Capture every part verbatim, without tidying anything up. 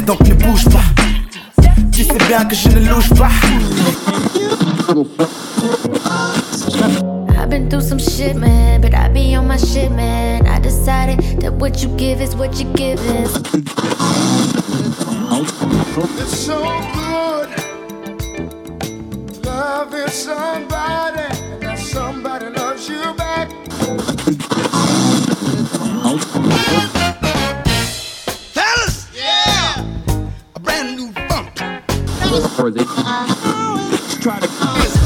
donc ne bouge pas. Tu sais bien que je ne louche pas. I've been through some shit, man, but I be on my shit, man. I decided that what you give is what you give is. It's so good loving somebody, and that somebody loves you back. Fellas, yeah, a brand new funk. Try to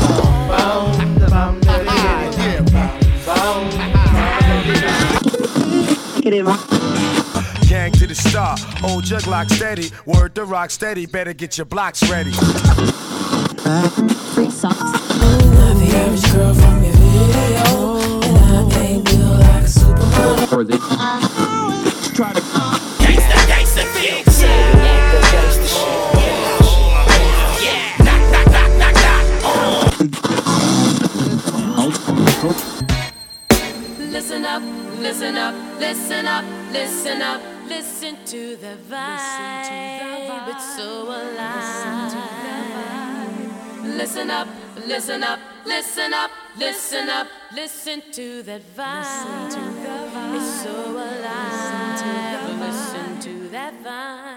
gang to the star, old jug lock steady, word to rock steady, better get your blocks ready. Free socks. I'm the average girl from your video, and I ain't built like a supermodel. Try to gangsta, gangsta, fix it. Gangsta shit. Yeah, knock, knock, knock, knock, knock. Listen up, listen up, listen up, listen up, listen to the vibe. It's so alive. Listen up, listen up, listen up, listen up, listen to that vibe. It's so alive. Listen to that vibe.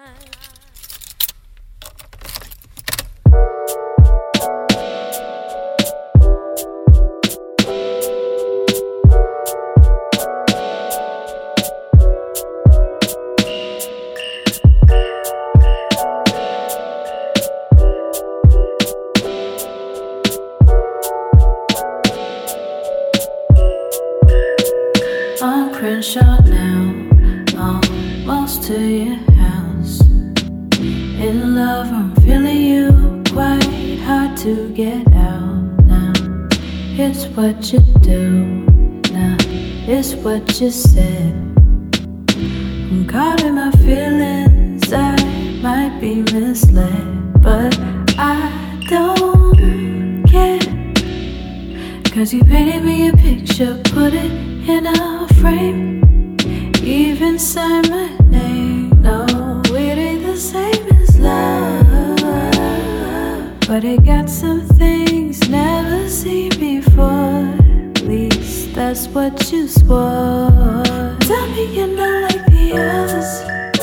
Crenshaw now, almost to your house. In love, I'm feeling you, quite hard to get out now. It's what you do, now it's what you said. I'm caught in my feelings, I might be misled, but I don't care. Cause you painted me a picture, put it in a frame, even sign my name. No, it ain't the same as love, but it got some things never seen before. At least that's what you swore. Tell me you're not like the others.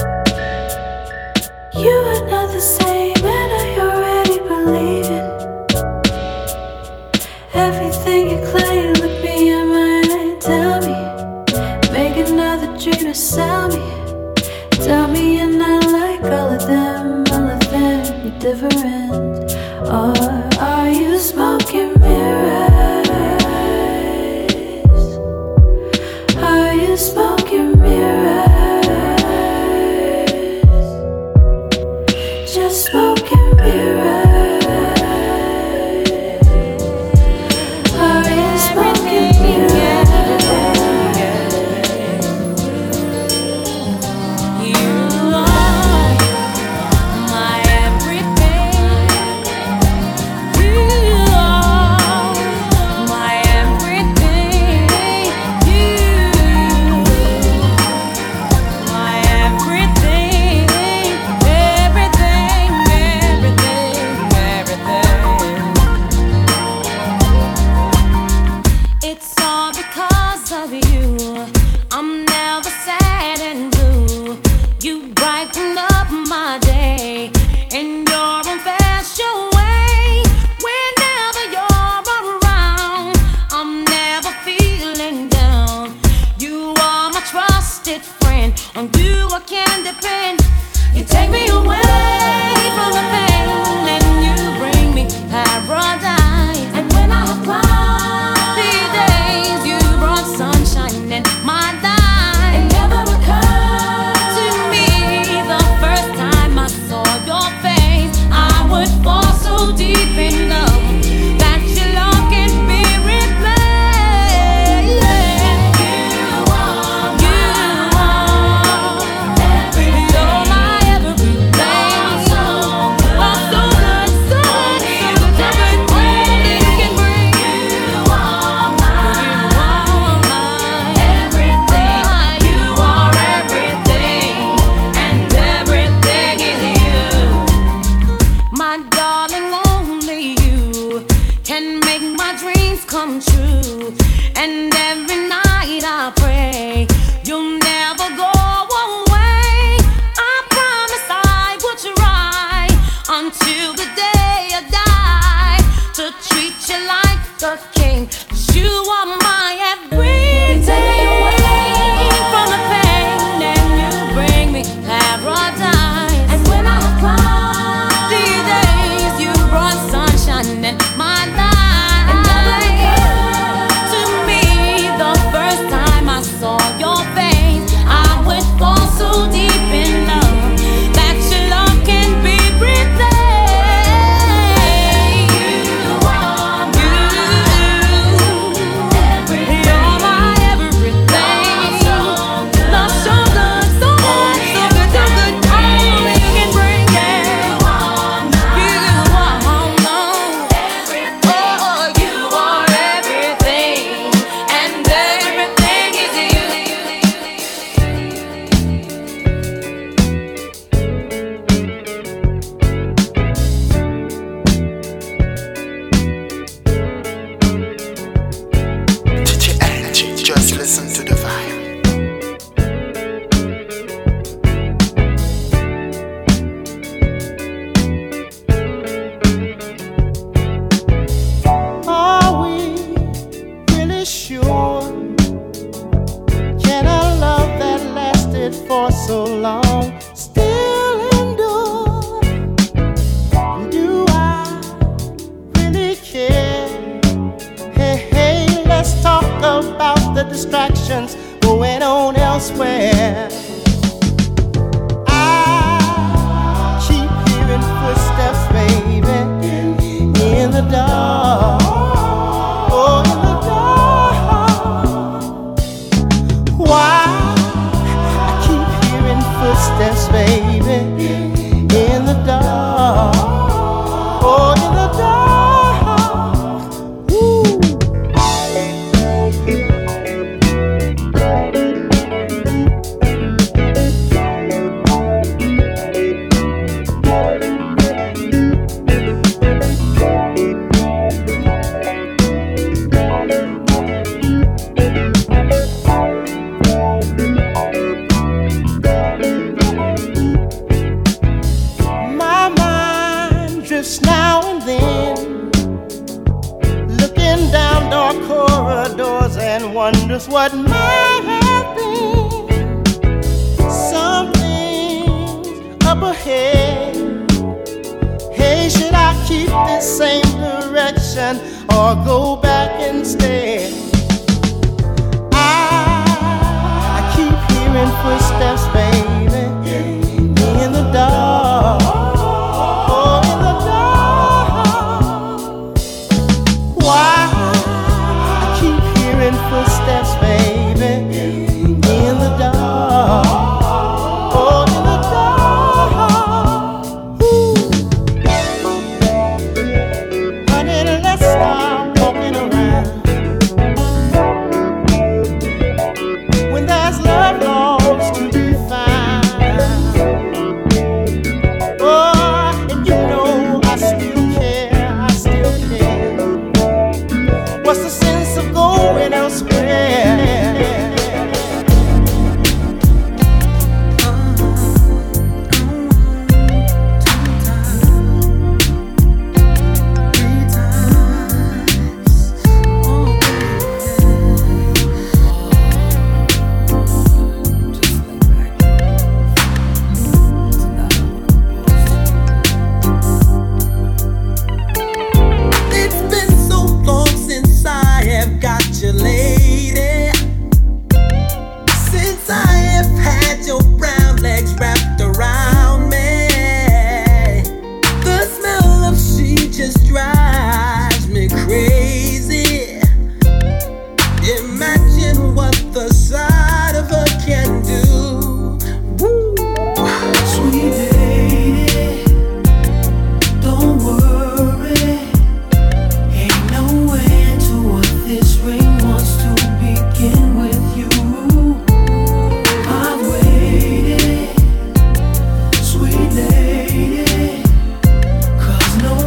You are not the same, and I already believe it. Everything you claim, look me in my eye, tell me. Make another dream to sell me. Tell me you're not like all of them, all of them, you're different. Or are you smoking mirrors? Are you smoking mirrors? Just smoking mirrors. You are every night I pray you'll never go away. I promise I will try until the day I die to treat you like a king. 'Cause you are my everything. Take away from the pain and you bring me paradise. And when I cry, these days you brought sunshine in my life. To me, the first time I saw your face, I would fall so deep in love that your love can be replaced.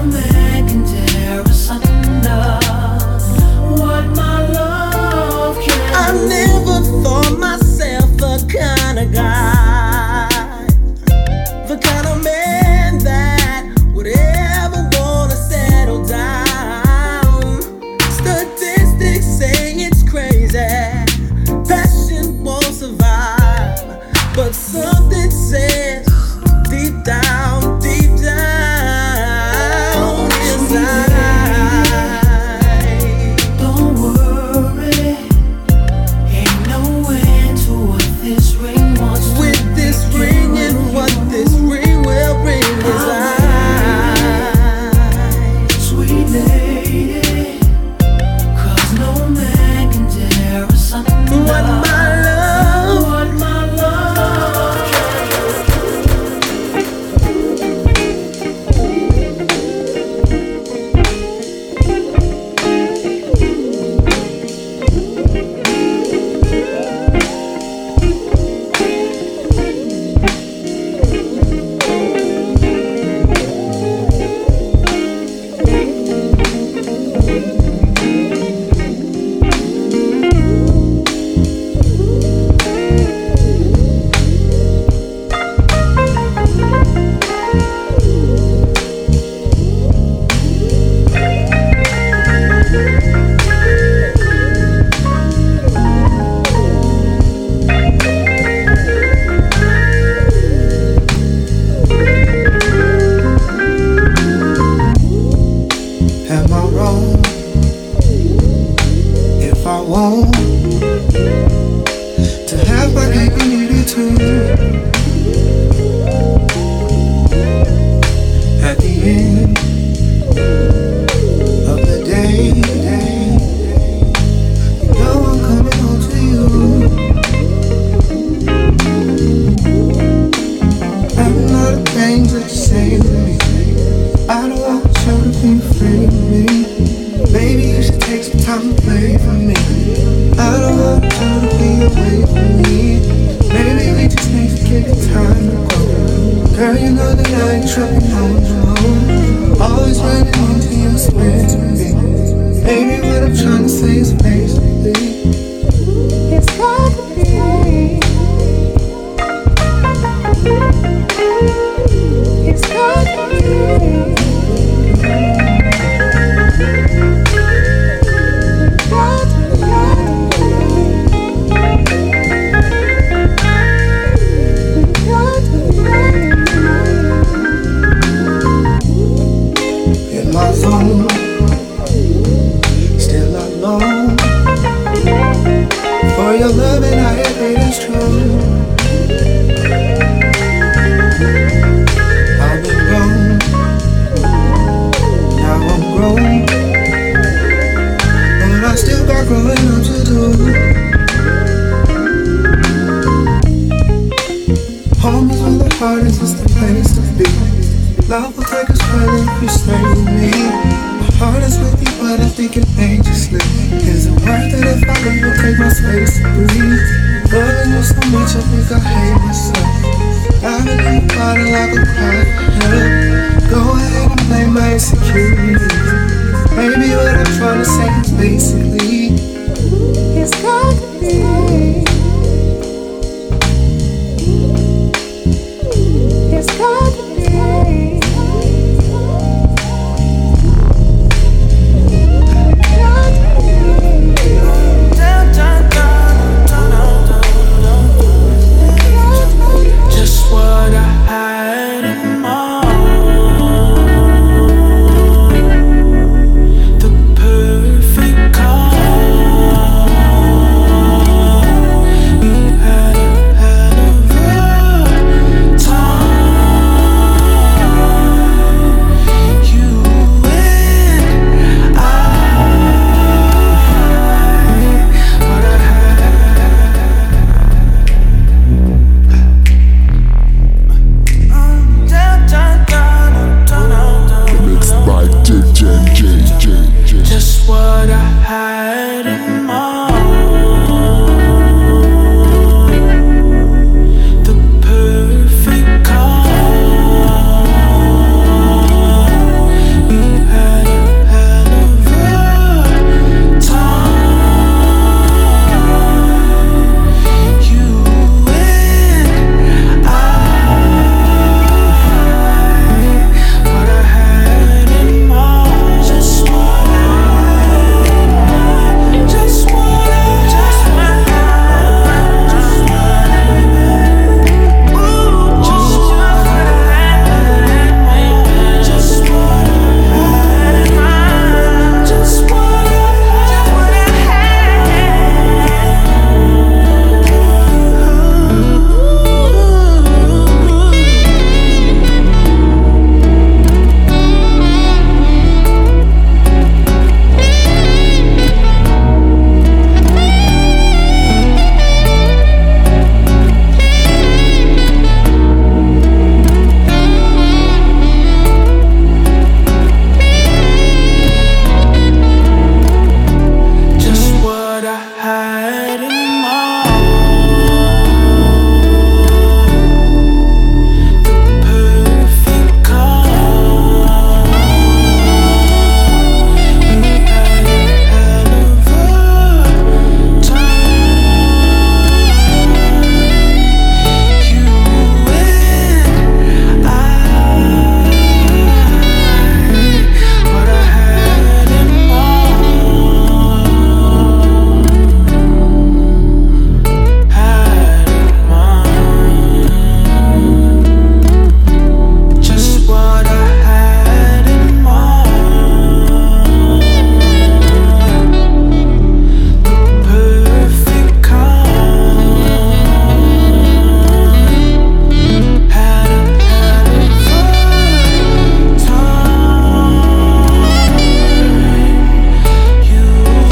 What my love can For your love and I hate is true. I've been wrong, now I'm grown, but I still got growing up to do. Home is where the heart is, it's the place to be. Love will take us further if you stay with me. My heart is with you, but I think it made you slip. Is it worth it if I leave or take my space to breathe? Loving you so much, I think I hate myself. Diving in the bottle like a cry for help. Go ahead and blame my insecurities. Maybe what I'm trying to say is basically it's got to be. It's got to be. Just what I had in mind. The perfect calm. You had a hell of a time. You and I. What I Mixed by J J J J J. Just what I had in mind. The perfect calm. You had a hell of a time. You and I. What I had in mind. Just what I, just what I, just what I, just what I, ooh, just what I, just what I, just what just what I had in mind. The perfect calm. You had a hell of a time. You and I. What I had in mind. Had in mind. Just what I had in mind. The perfect calm. Had a hell of a time. You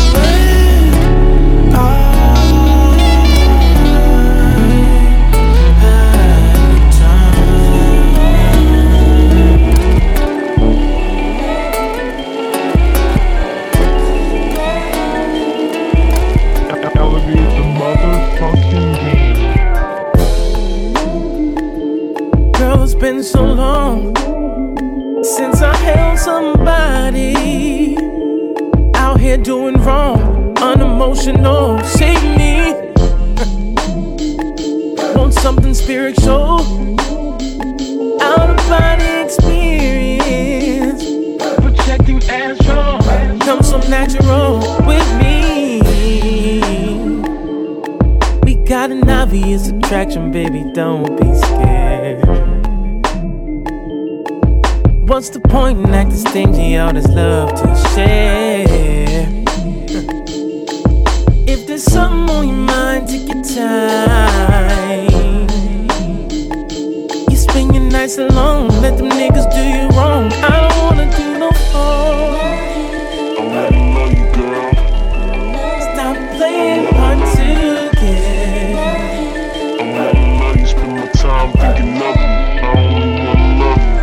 and I had time. Elevate the motherfucking game. Girl, it's been so long since I held somebody out here doing wrong, unemotional. Save me. Want something spiritual, out of body experience, projecting astral. Come so natural with me. We got an obvious attraction, baby. Don't be scared. What's the point in acting stingy? All this love to share. If the there's something on your mind, take your time. You spend your nights alone, let them niggas do you wrong. I don't wanna do no harm. I wanna love you, girl. Stop playing hard to get. I wanna love you, spend my time thinking of you. I only wanna love you.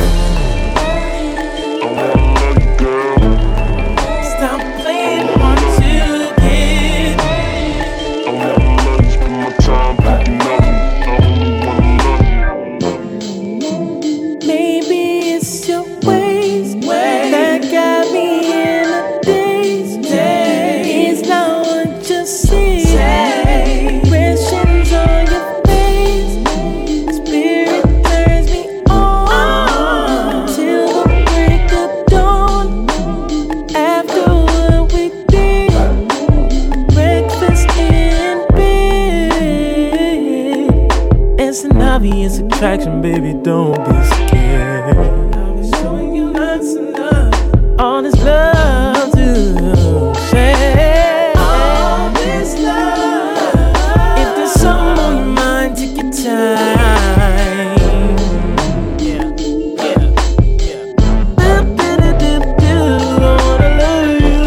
I wanna love you, girl. Stop playing hard to get. I wanna love you, spend my time thinking of you. I only wanna love you. Maybe it's your ways that got me in a daze. It's not what you see. Expressions on your face. Spirit turns me on till the break of dawn. After what we did, breakfast in bed. It's an obvious attraction, baby, don't be scared. I'll be showing you lots of love, all this love to share. All this love. If there's something on your mind, take your time. Yeah, yeah, yeah. Do-do-do-do-do, I wanna love you.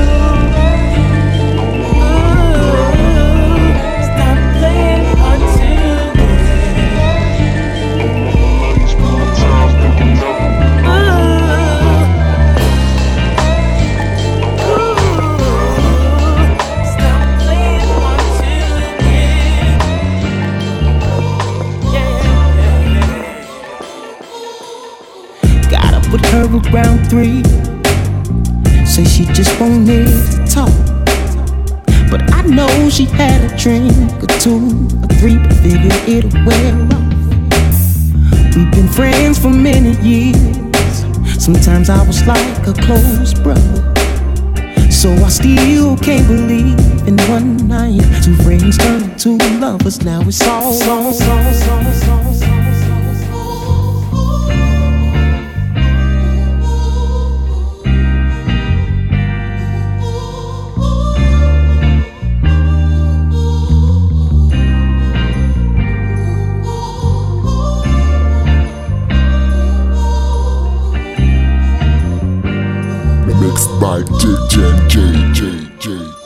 Ooh, stop playing hard to get. Spend my time thinking of you. Stop playing hard to get. Yeah, yeah, yeah. Got up with her around three. Say she just wanted to talk, but I know she had a drink or two or three, but figured it'll wear off. We've been friends for many years. Sometimes I was like a close brother, so I still can't believe in one night two friends turned to lovers. Now it's all on. Mixed by D J J J J.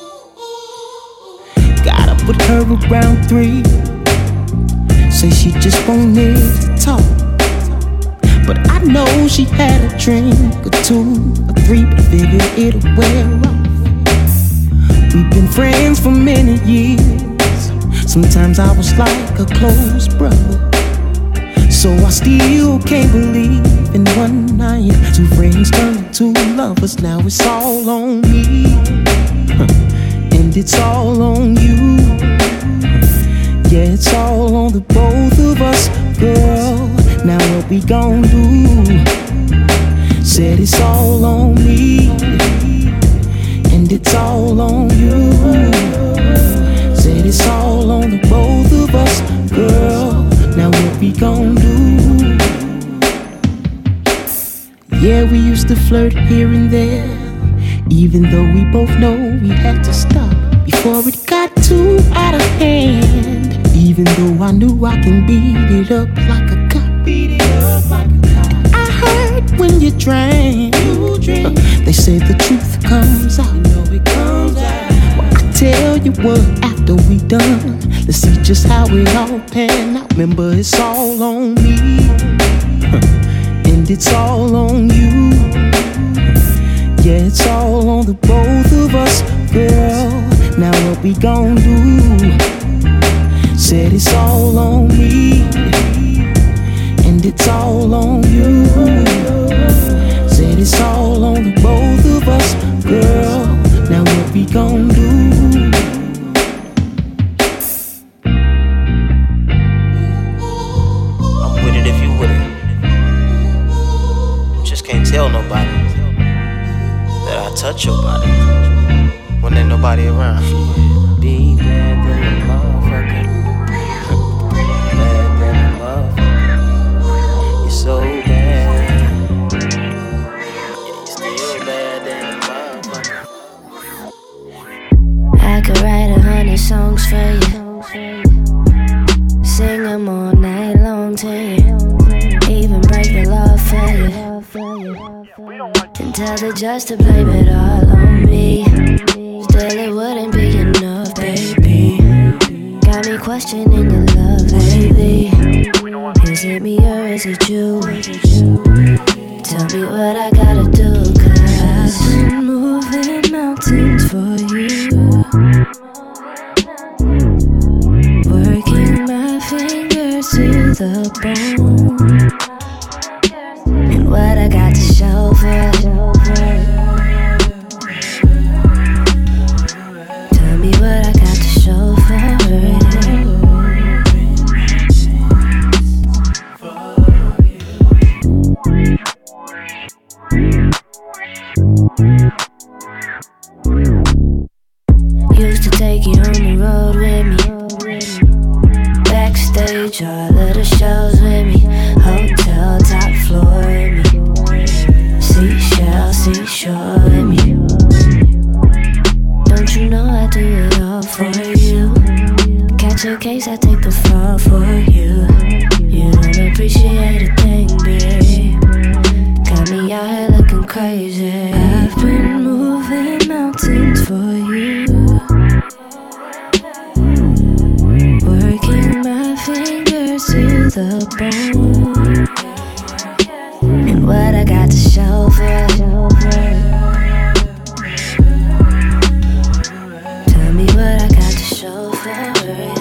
Got up with her around three. Say she just wanted to talk, but I know she had a drink or two or three, but figured it'll wear off. We've been friends for many years. Sometimes I was like a close brother, so I still can't believe in one night two friends turned to lovers. Now it's all on me, and it's all on you. Yeah, it's all on the both of us, girl. Now what we gon' do? Said it's all on me, and it's all on you. Said it's all on the both of us, girl. Now what we gon' do? Yeah, we used to flirt here and there, even though we both know we had to stop before it got too out of hand. Even though I knew I can beat it up like a cop. I heard when you drank, you drink. They say the truth comes out. You know it comes out. Well, I tell you what, after we done, let's see just how it all pan out. Remember, it's all on me, and it's all on you. Yeah, it's all on the both of us, girl. Now what we gon' do? Said it's all on me, and it's all on you. Said it's all on the both of us, girl. Now what we gon' do? I'm with it if you with it. Just can't tell nobody that I touch your body when ain't nobody around. Be bad than a motherfucker. Bad than a motherfucker. You're so bad. Yeah, you're still bad than a motherfucker. I could write a hundred you. Sing them all night long to you. Even break the law for you. And tell the judge to blame it all on me. Still it wouldn't be enough, baby. Got me questioning your love lately. Is it me or is it you? Tell me what I gotta do, cause I've been moving mountains for you. Working my fingers to the bone. And what I got to show for it. Tell me what I got to show for it. Used to take you on the road with me. Backstage, all of the shows with me. Hotel, top floor with me. Seashell, seashore with me. Don't you know I do it all for you? Catch a case, I take the fall for you. You don't appreciate a thing, babe. Got me out here looking crazy. I've been moving mountains for you. Working my fingers to the bone. And what I got to show for it. Tell me what I got to show for it.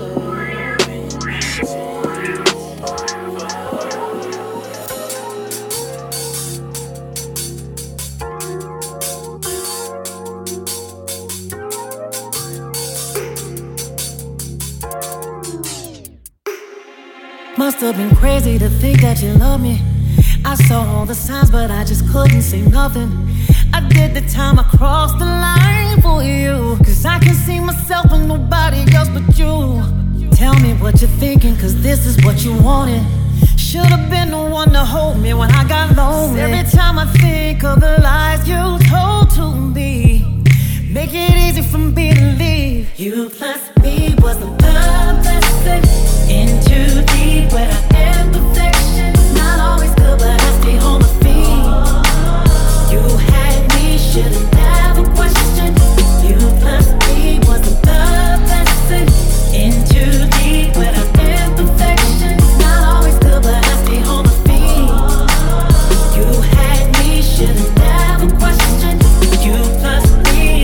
Must have been crazy to think that you love me. I saw all the signs, but I just couldn't say nothing. I did the time, I crossed the line for you. Cause I can see myself in nobody else but you. Tell me what you're thinking, cause this is what you wanted. Should've been the one to hold me when I got lonely. Every time I think of the lies you told to me, make it easy for me to leave. You plus me was the love lesson. In too deep where I am perfection. Not always good, but I stay on my feet. You had me, should've never questioned. You plus me was the love lesson. In too deep where I am perfection. Not always good, but I stay on my feet. You had me, should've never questioned. You plus me.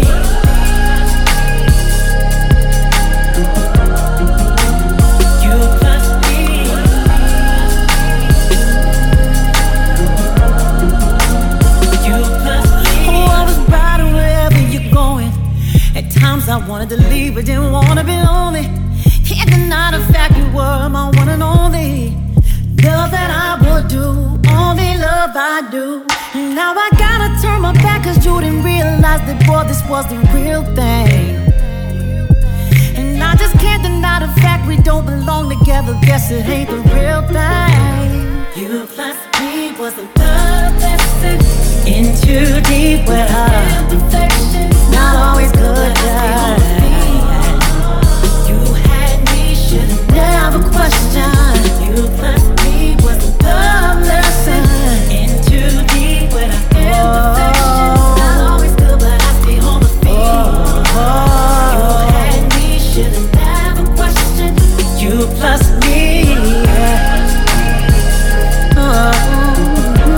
I wanted to leave, but didn't wanna be lonely. Can't deny the fact you were my one and only. Love that I would do, only love I do. Now I gotta turn my back cause you didn't realize that, boy, this was the real thing. And I just can't deny the fact we don't belong together. Guess it ain't the real thing. You plus me was the love lesson. In too deep where I imperfection. Not always good, girl. You had me, should've never questioned. You plus me was the love lesson. In too deep where I imperfection. Not always good, but I stay on my feet. You had me, should've never questioned. You plus me. Oh.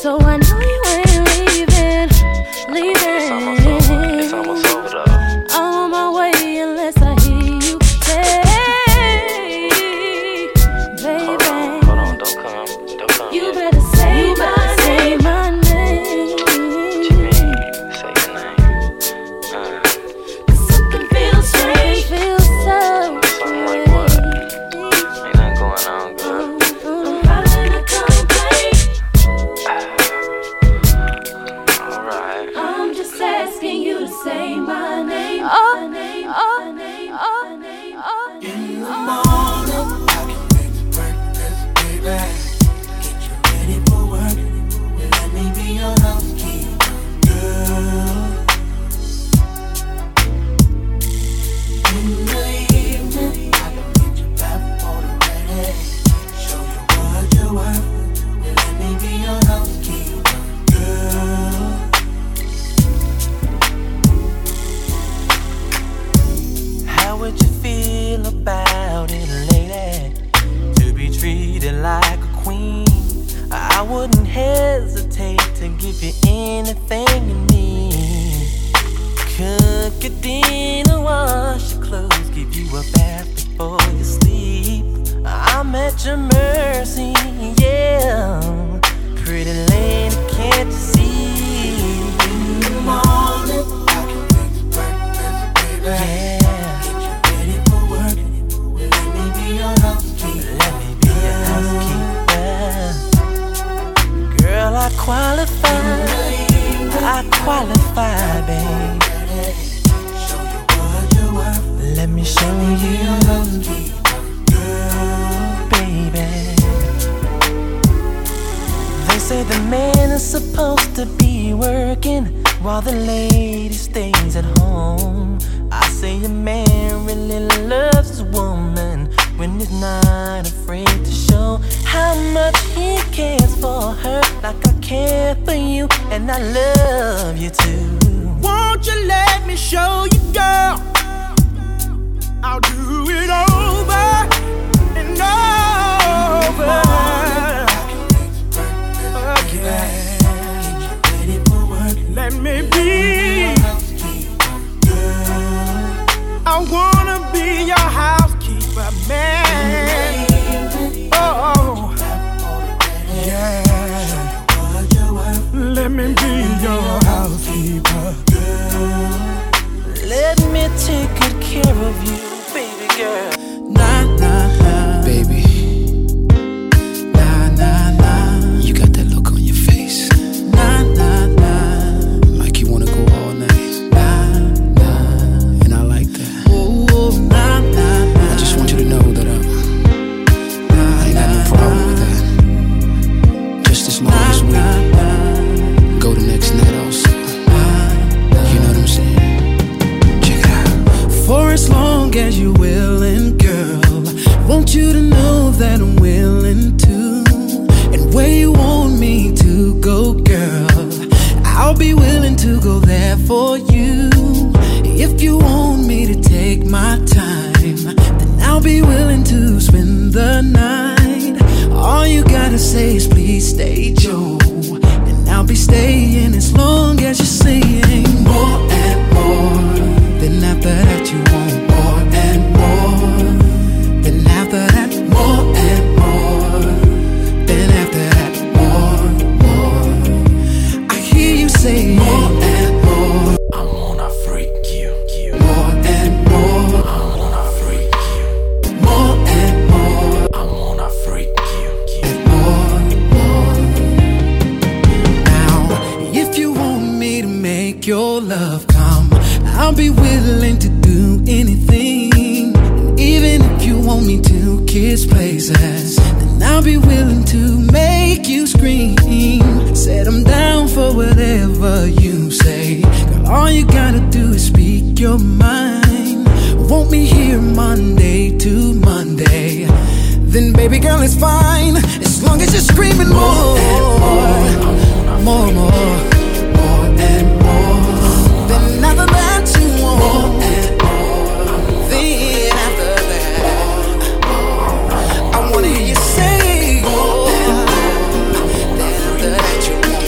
So I know you ain't leaving, leaving. It's almost over. It's almost over though. I'm on my way unless I hear you say, baby. Hold on, hold on, don't come, don't come. You yet. better say you my better name. Say my name. What you mean? Say your name. Uh, Something feels strange, feels so. something like what? Ain't nothing going on, girl. I'm filing a complaint. Alright. I'm just asking you to say my name. Oh, my name, oh, my name, oh, my name, oh. In the morning, I can make you breakfast, baby. Get you ready for work. Let me be your housekeeper, girl. In the evening, I can get you back for the ready. Show you what you're worth. Let me be your housekeeper, girl. How would you feel about it, lady? To be treated like a queen. I wouldn't hesitate to give you anything you need. Cook your dinner, wash your clothes, give you a bath before you sleep. I'm at your mercy, yeah. Pretty lady, can't you see? In the morning, I can make you breakfast, baby. Yeah. Get you ready for work. Let me be your housekeeper. Let me be your housekeeper. Girl, I qualify. I qualify, babe. Show you what you're worth. Let me show you, Girl, baby. They say the man is supposed to be working while the lady stays at home. I say a man really loves his woman when he's not afraid to show how much he cares for her, like I care for you and I love you too. Won't you let me show you, girl? I'll do it over and over again. ready for work. Let me be. I wanna be your housekeeper, man. Oh, yeah. Let me be your housekeeper. Let me take good care of you, baby girl. Nah, nah, nah, baby. Nah, nah, nah. You got that look on your face. Nah, nah, nah. Like you wanna go all night. Nah, nah. And I like that. Oh, oh nah, nah, nah. I just want you to know that I'm. Nah, I ain't got no problem with that. Just as long as we go the next night also. You know what I'm saying? Check it out. For as long as you're willing, girl, want you to know that I'm willing to. And where you want me to go, girl, I'll be willing to go there for you. If you want me to take my time, then I'll be willing to spend the night. All you gotta say is please stay, Joe, and I'll be staying as long as you're saying more and more. Then after that you want more and more. Then after that more and more. Then after that more, more. I hear you say more and more. I wanna freak you, you. More and more. I wanna freak you. More and more. I wanna freak you, you. More, more. Now, if you want me to make your love come, I'll be willing to do anything. And even if you want me to kiss places, then I'll be willing to make you scream. Said I'm down for whatever you say. Girl, all you gotta do is speak your mind. Want me here Monday to Monday, then baby girl it's fine, as long as you're screaming more, more, more, more, more and more. Then after that you want more and more. Then after that I wanna hear you say more. Then after that you want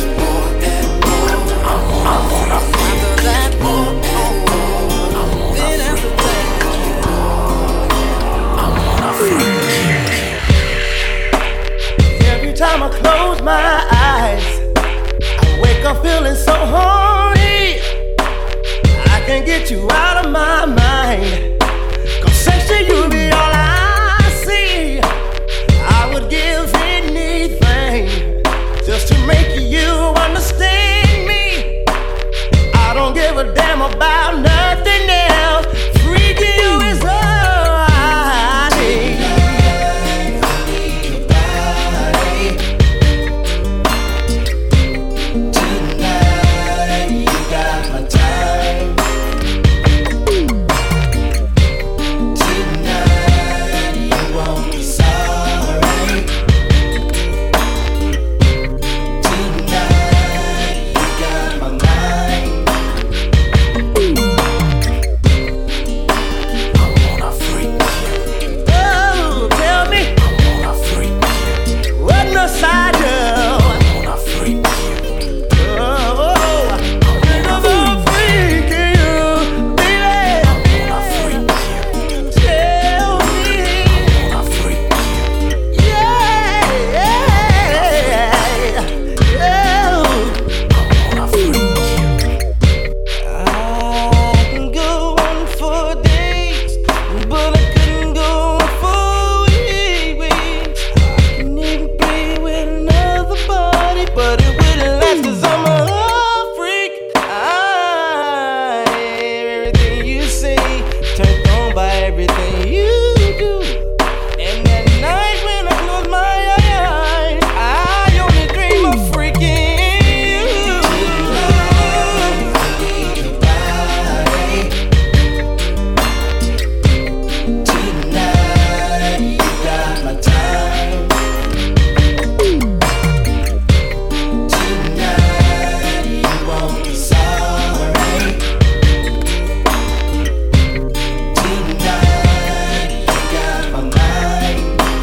time I close my eyes, I wake up feeling so horny. I can't get you out of my mind. Cause sexy, you be all I see. I would give anything just to make you understand me. I don't give a damn about nothing else. Freaking you is all I need. Tonight you got my time. Tonight you won't be sorry. Tonight you got my mind. I wanna freak you. Oh, tell me. I wanna freak you. What must I do? I wanna freak you. Oh, I wanna freak you, baby. I wanna freak you. Tell me. I wanna freak you. Yeah, yeah, yeah. I wanna freak you. I can go on for days, but I couldn't go on for weeks. I can even play with another body, but it wouldn't last 'cause I'm a freak. I hear everything you say, turned on by everything you do. And at night when I close my eyes, I only dream of freaking you. Tonight you got my time. Tonight you won't be sorry. Tonight you got my mind.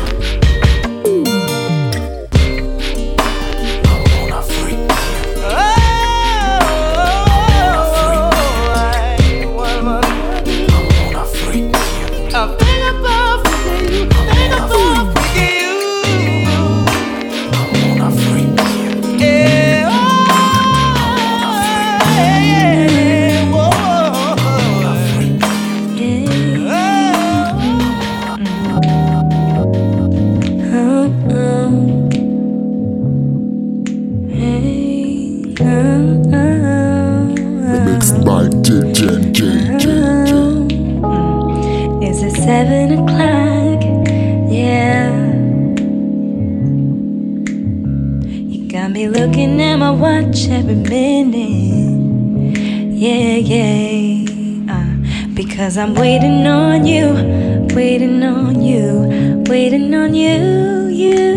I wanna freak you. Oh, I wanna freak you. I think about freaking you. Think about freaking you. I wanna freak you. Yeah, oh, yeah, whoa. I wanna freak you. Mixed by D J J J. Is it seven o'clock? Yeah. You got me looking at my watch every minute. Yeah, yeah. Uh, because I'm waiting on you, waiting on you, waiting on you, you.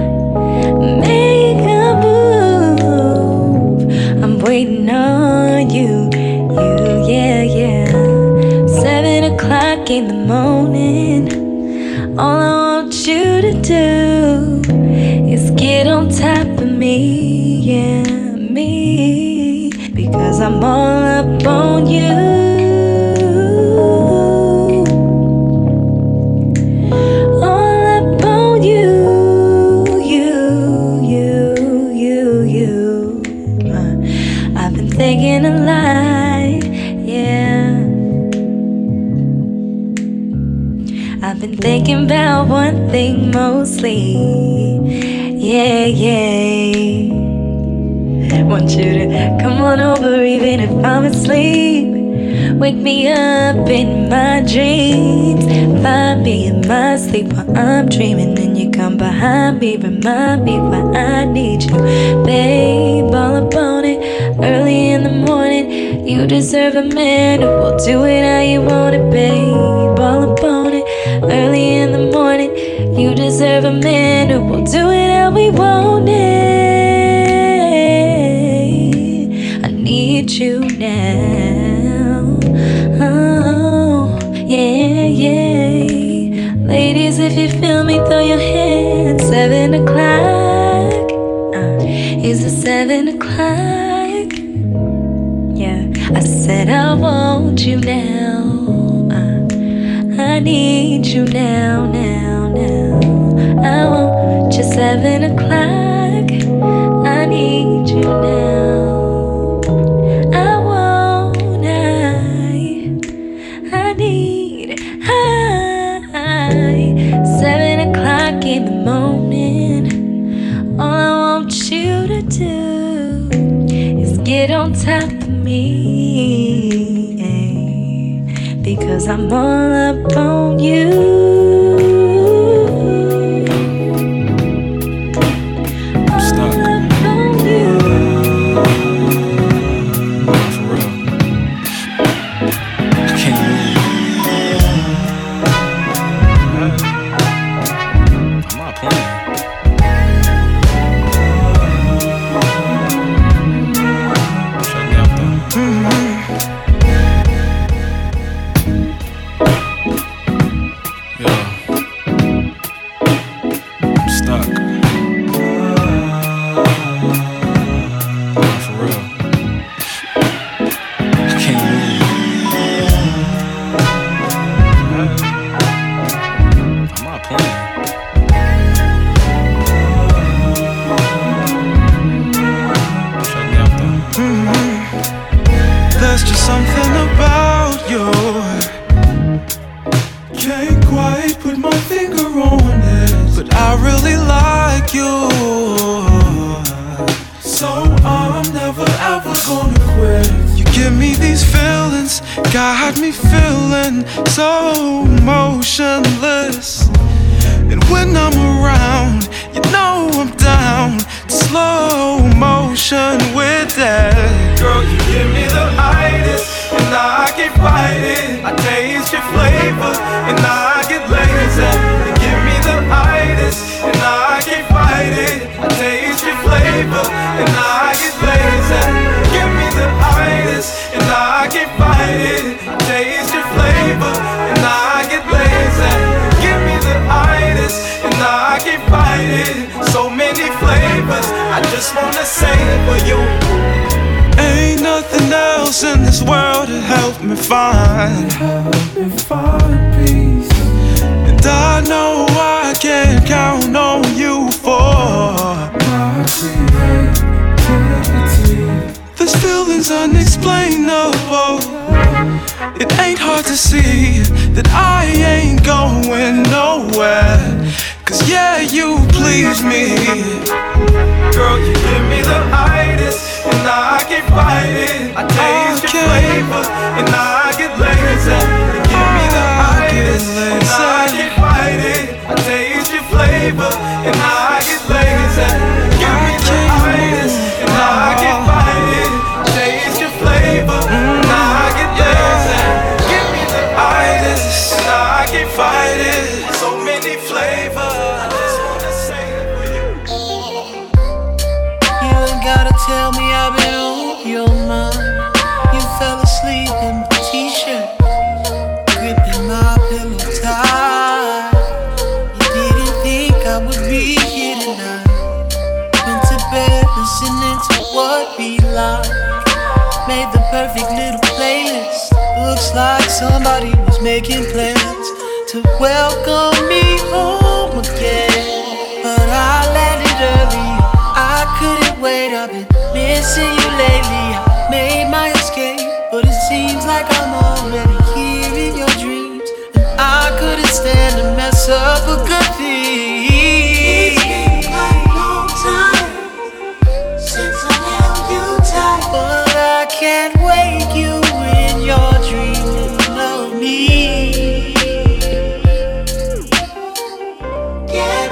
Make a move. I'm waiting on you, you, yeah, yeah. Seven o'clock in the morning. All I want you to do is get on top of me, yeah, me. Because I'm all up on you. All up on you, you, you, you, you. Uh, I've been thinking a lot, yeah. I've been thinking about one thing mostly. Yeah, yeah. Want you to come on over even if I'm asleep. Wake me up in my dreams. Find me in my sleep while I'm dreaming. And you come behind me, remind me why I need you. Babe, all up on it, early in the morning. You deserve a man who will do it how you want it, babe. All up on it, early in the morning. You deserve a man who will do it how we want it. I need you now. Oh, yeah, yeah. Ladies, if you feel me, throw your hands. Seven o'clock. Uh, is it seven o'clock? Yeah, I said I want you now. Uh, I need you now, now, now. I want you seven seven o'clock. I need you now. I want, I, I need, I. Seven o'clock in the morning. All I want you to do is get on top of me, because I'm all up on you. Get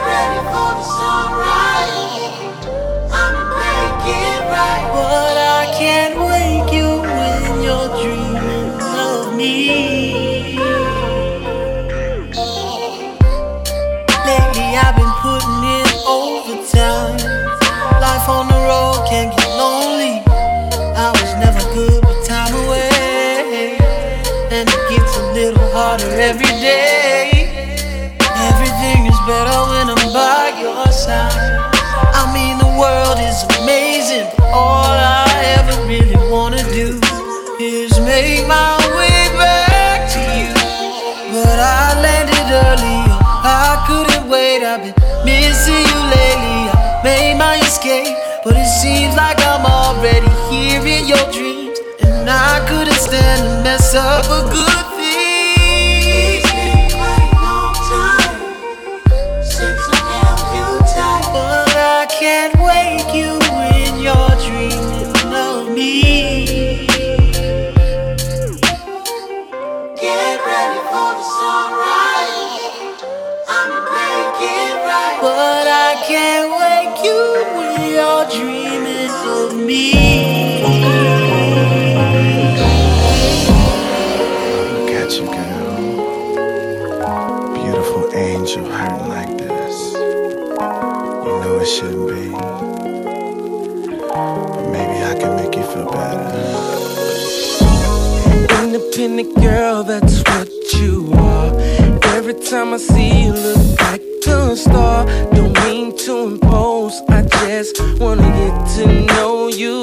but it seems like I'm already here in your dreams, and I couldn't stand to mess up a good thing. It's been quite a long time since I held you tight, but I can't wake you when you're dreaming of me. Get ready for the sunrise, I'ma make it right, but I can't wake you when you're dreaming of me. Look at you, girl. Beautiful angel hurting like this. You know it shouldn't be, but maybe I can make you feel better. Independent girl, that's what you are. Every time I see you, look like a star. Don't mean to impose, I just wanna get to know you.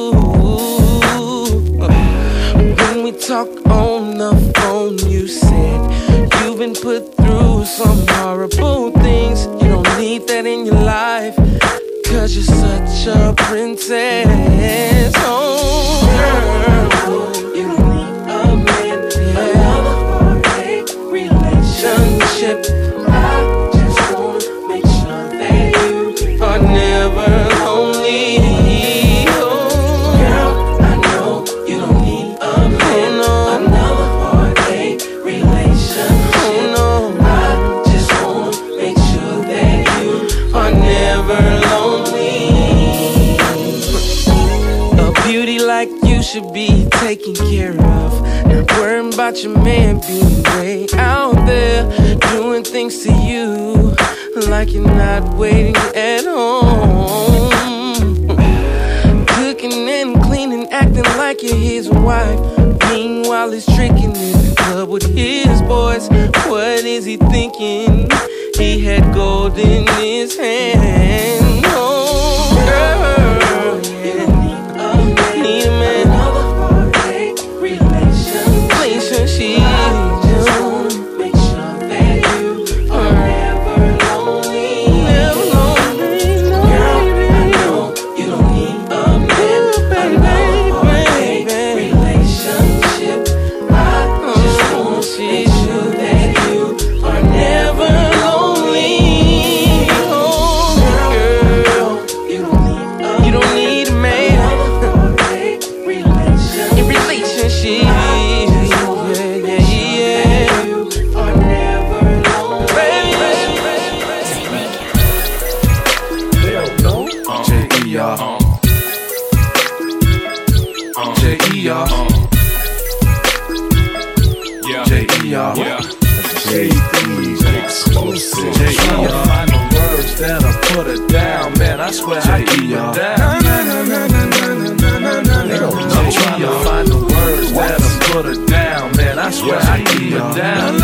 When we talk on the phone, you said you've been put through some horrible things. You don't need that in your life, cause you're such a princess. Oh, girl, you don't need a man, another heartache relationship. I just wanna make sure that you are never lonely. Oh, girl, I know you don't need a man, another heartache relationship. Oh, no. I just wanna make sure that you are never lonely. A beauty like you should be taken care of. Not worrying about your man being way out there, doing things to you like you're not waiting at home. Cooking and cleaning, acting like you're his wife. Meanwhile, he's tricking in the club with his boys. What is he thinking? He had gold in his hand. Oh, girl, you don't need a man, need a man. Another heartache relationship. Relationship. I just wanna make sure that you are never lonely. Never lonely. Girl, I know you don't need a man, another heartache relationship. I just wanna make sure that you are never lonely. Oh, girl, you don't need a you don't need a man. In relationship, yeah, yeah, yeah. You are never lonely. J E R J E R J E R J exclusive. J E R find the words that'll put it down, man. I swear I keep it down. I'm trying to find the words that'll put it down, man. I swear I keep it down.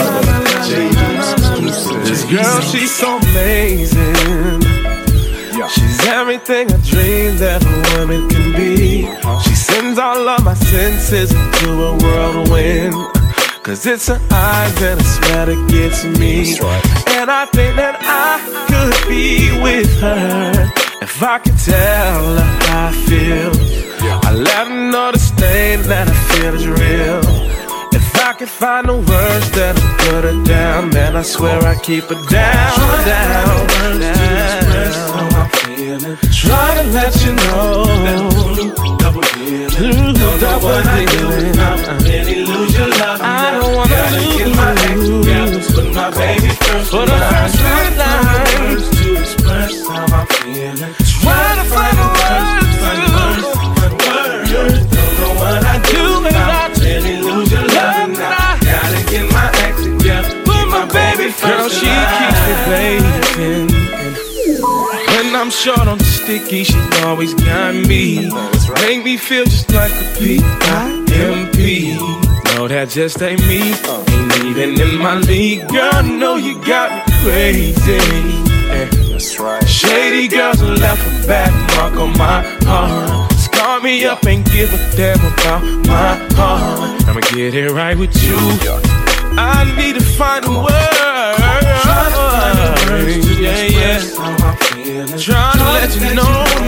This girl, she's so amazing. She's everything a dream that a woman can be. She sends all of my senses into a whirlwind. Cause it's her eyes and a smell that gets me. And I think that I could be with her if I could tell her how I feel. I let her know the stain that I feel is real. If I could find the words that'll put her down, man, I swear I keep her down, down, down. Try to let you know double dealing, double dealing. Really lose your love. I don't wanna gotta lose. Get my ex together, put my baby first. For the first time to express how I'm feeling. Try to find the words, find the words, find the words. Don't know what I do without really lose your love. Now gotta get my ex together, put my baby first. Girl, she keeps me waiting. When I'm short on the sticky, she always got me. Make me feel just like a P I M P. No, that just ain't me. Ain't even in my league. Girl, I know you got me crazy. That's right. Shady girls left a bad mark on my heart. Scar me up and give a damn about my heart. I'ma get it right with you. I need to find a word. Yeah, yeah. Trying to let you know now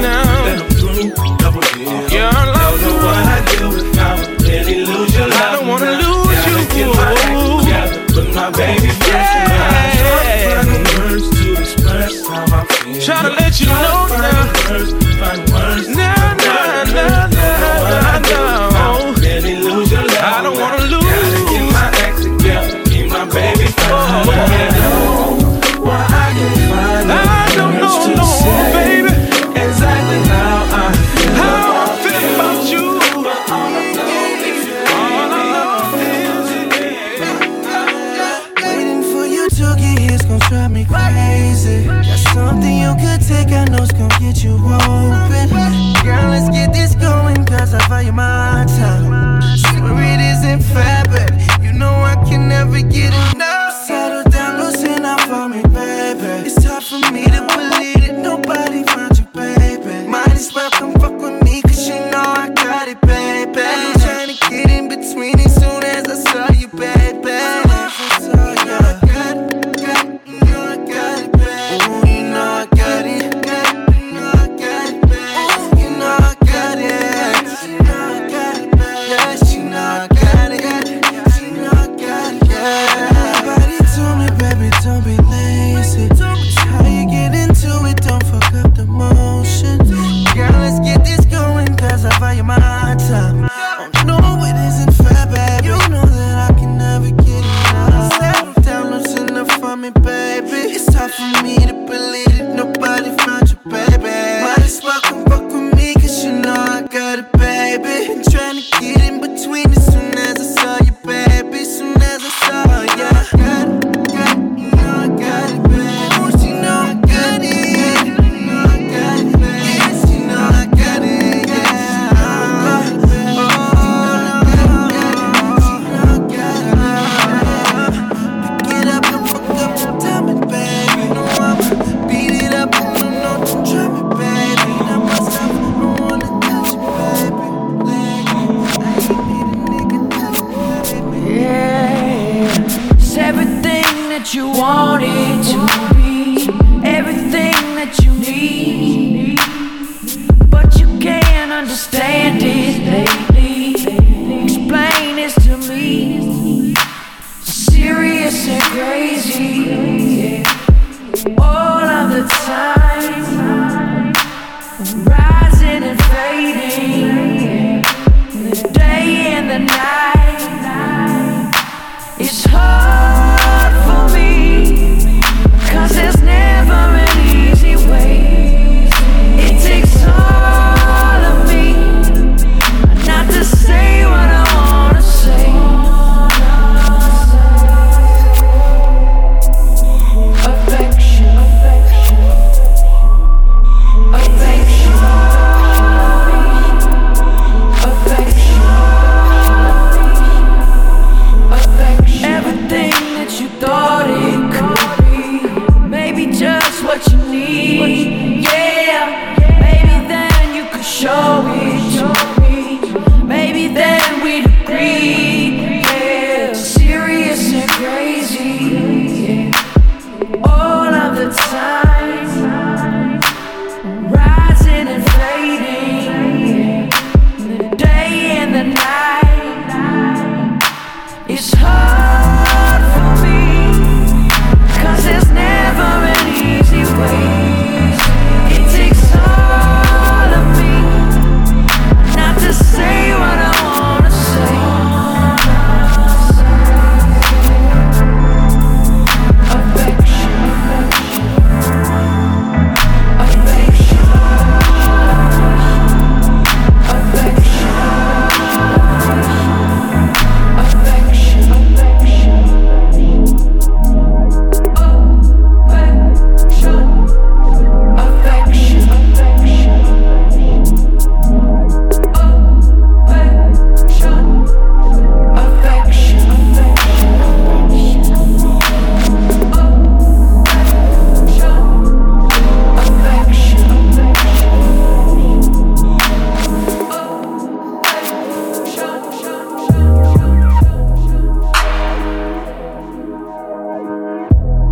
when I'm through. Double years. Your love. Don't know what I do if I would really lose your love. I don't wanna lose Gotta you. get my act together, put my baby first. Yeah. Find the words to express how I feel. Try to let you know find now. the words, find the words. Nah, nah, nah, nah, nah, nah. Really lose your love. I don't wanna lose. Gotta get my act together, keep my baby first. Oh. Why I can find the I don't words know, to no, say baby. exactly how I feel. How I feel about you. All I know is All I know is Waiting for you to get here's gon' drive me crazy. Got something you could take, I know's gon' get you open. Girl, let's get this going, cause I value my time. Swear it isn't fair, but you know I can never get enough. Settle down, loosen up for me, baby. It's tough for me to believe that nobody found you, baby. Might as well come fuck with me, cause you know I got it, baby. I'm trying to get in between as soon as I saw you, baby.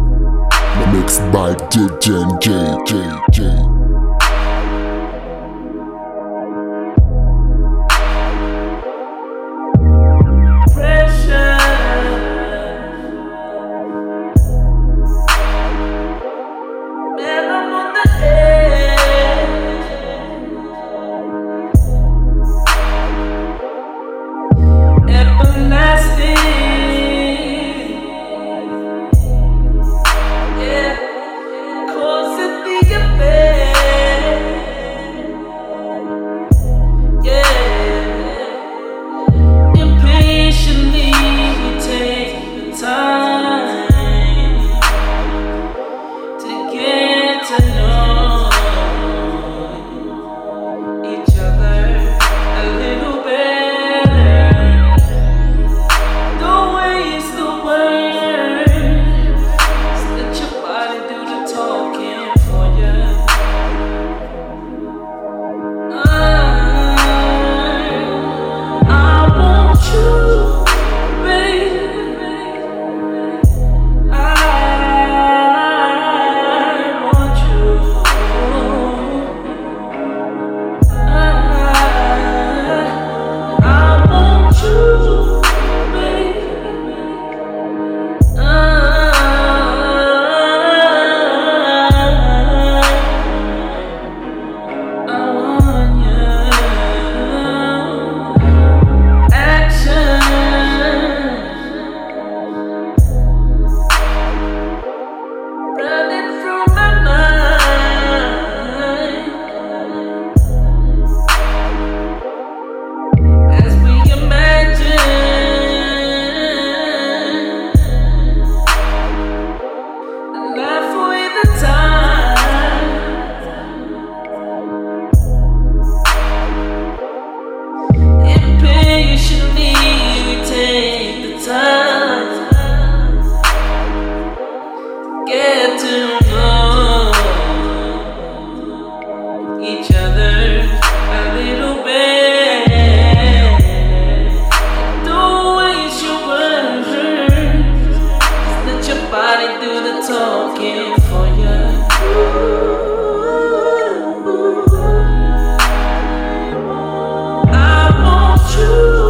Mixed by D J J J J. each other a little bit. Don't waste your words. Let your body do the talking for you. I want you.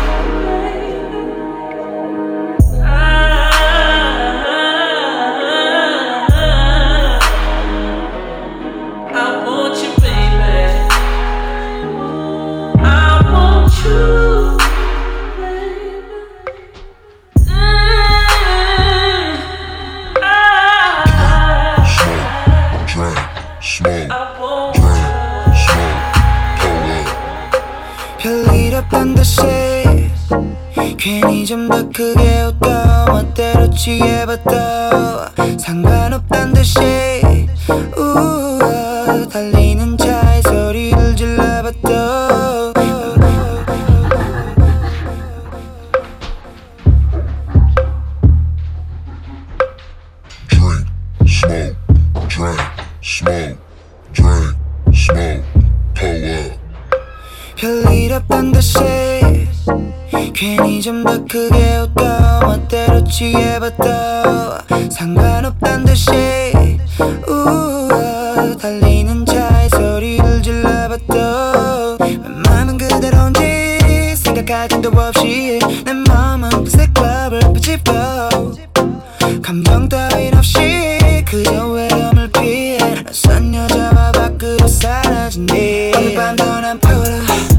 별일없단 듯이 괜히 좀 더 크게 웃고 멋대로 취해봐도 상관없단 듯이 우와 달리는 차에 소리를 질러봐도 Drink, smoke, drink, smoke, drink, smoke, pull up. 별일 없단 듯이 괜히 좀 더 크게 웃고 멋대로 취해봐도 상관없단 듯이 우와 달리는 차에 소리를 질러봐도 웬만한 그대로인지 생각할 틈도 없이 내 마음은 그새 클럽을 비집어 감정 따윈 없이 그저 외로움을 피해 낯선 여자와 밖으로 사라진 뒤 오늘 밤도 난 풀어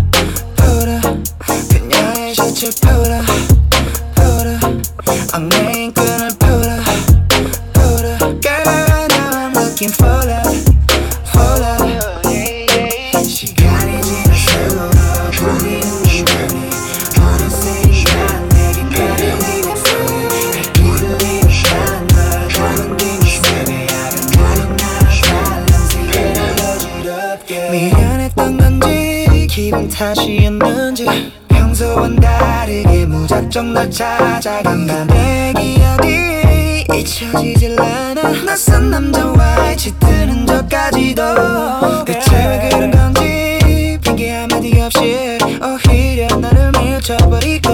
그녀의 셔츠를 풀어 풀어 얽매인 끈을 풀어 풀어 Girl now I'm looking for love for love 시간이 지날수록 보이는 눈이 어느새 난 내게 가려진 목소리 갈 길을 잃어가는 널 가만히 있으니 아름다운 나를 발냄새를 어지럽게 미안했던 건지 기분 탓이었는지 평소와는 다르게 무작정 널 찾아간다 내 기억이 잊혀지질 않아 낯선 남자와의 짙은 흔적까지도 대체 왜 그런 건지 핑계 한마디 없이 오히려 나를 밀쳐버리고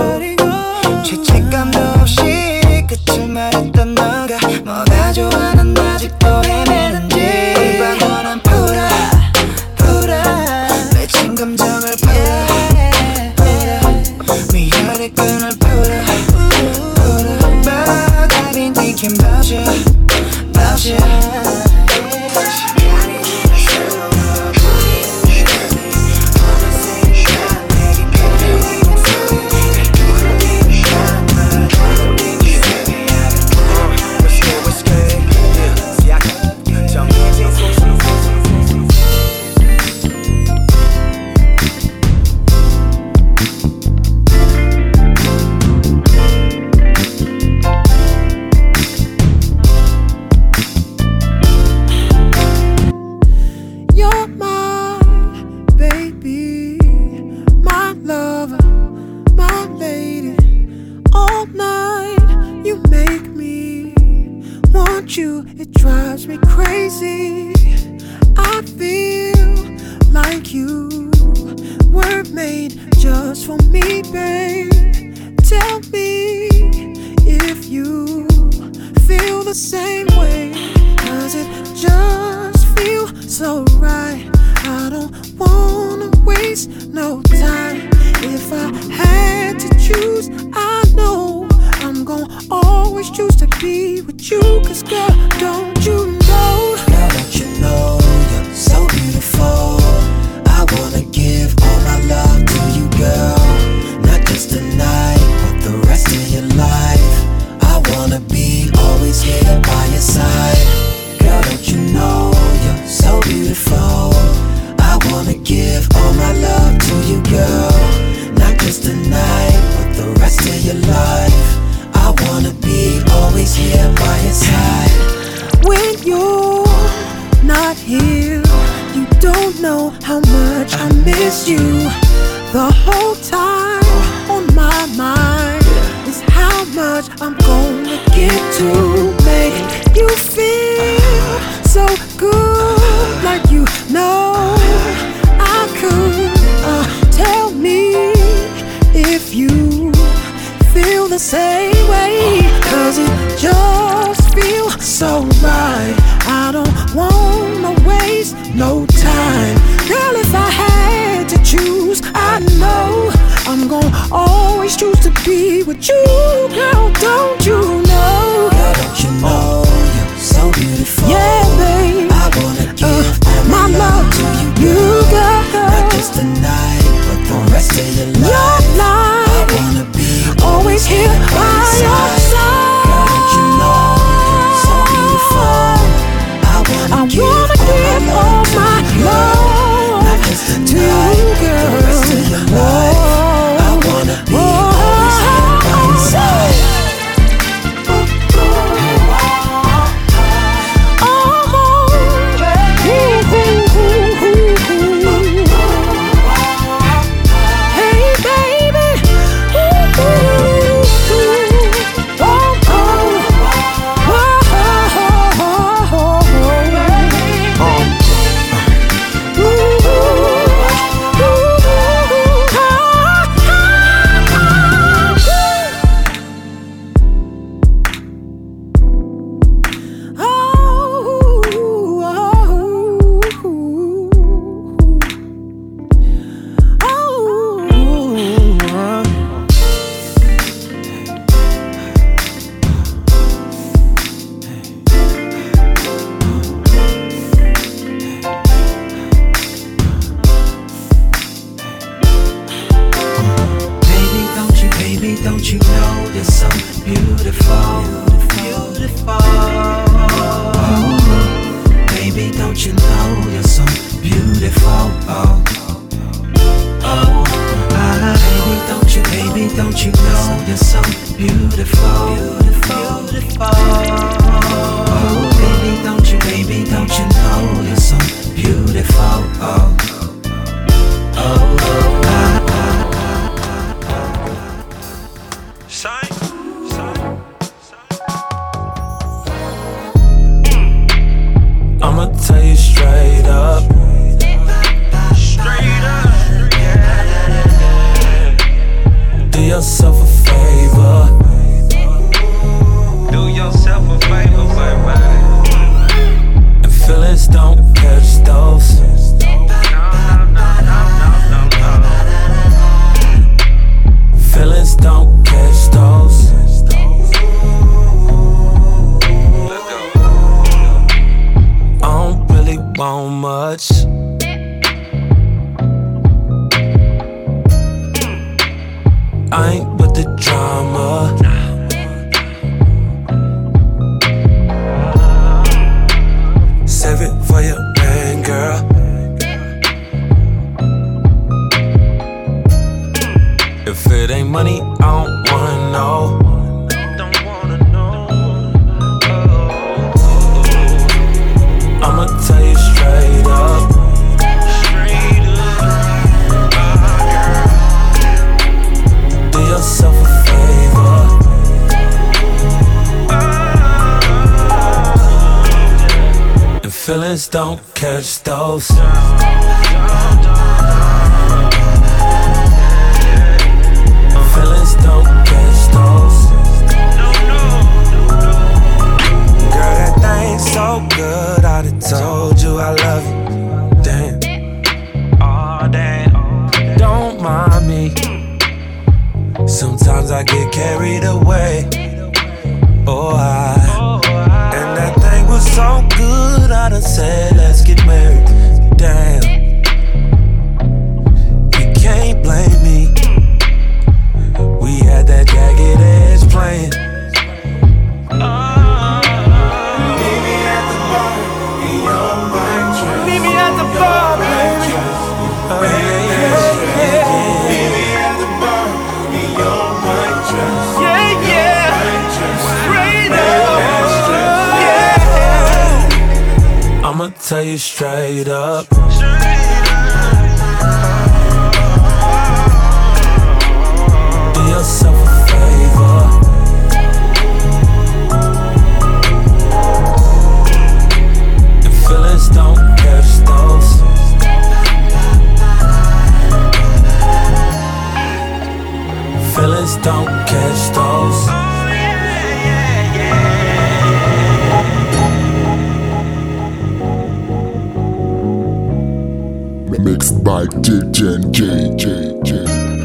죄책감도 없이 끝을 말했던 너가 뭐가 좋아 난 아직도 헤매는지 밤도 난 풀어 풀어 맺힌 감정을 풀어 미련의 끈을 풀어 풀어 바닥인 튀김 버셔 버셔 시간이 지날수록 보이는 눈이 어느새 난 내게 가려진 목소리 갈 길을 잃어가는 널 가만히 있으니 아름다운 What's good, what's good Yeah, see I can 정해진 소수는 You're my baby, my lover, my lady. All night you make me want you. It drives me crazy. I feel like you were made just for me, babe. Tell me if you feel the same way. Does it just feel so right? I don't wanna waste no time. If I had to choose, I know I'm gonna always choose to be with you. Cause girl, don't you know? Girl, don't you know you're so beautiful? I wanna give all my love to you, girl. Not just tonight, but the rest of your life. I wanna be always here by your side. Girl, don't you know you're so beautiful? I wanna give all my love to you, girl. Not just tonight, but the rest of your life. I wanna be always here by your side. When you're not here, you don't know how much I miss you. The whole time on my mind is how much I'm gonna get to make you feel so good, like you know mine. Girl, if I had to choose, I know I'm gonna always choose to be with you. Girl, don't you know? Girl, don't you know you're so beautiful? Yeah, babe, I wanna give uh, all my love to you, you, girl. Not just tonight, but the rest of your life. Your life. I wanna be always here by your side. Girl, don't you know you're so beautiful? I wanna I give wanna give all my love not just to tonight, you, girl. the rest of your life. I wanna be always here by your side. Feelings don't catch those. Feelings don't catch those. Girl, that thing's so good, I done told you I love you. Damn. Oh, damn. Don't mind me. Sometimes I get carried away. Oh, I. And that thing was so good, I done said, let's get married. Damn. You can't blame me. We had that jagged edge playing. Meet me at the bar, in your white dress. Meet me at the bar, baby. Meet me at the bar, in your white dress. Yeah, yeah. Straight up. I'ma tell you straight up. Do yourself a favor. And feelings don't catch those. Feelings don't catch those. Mixed by D J J J J.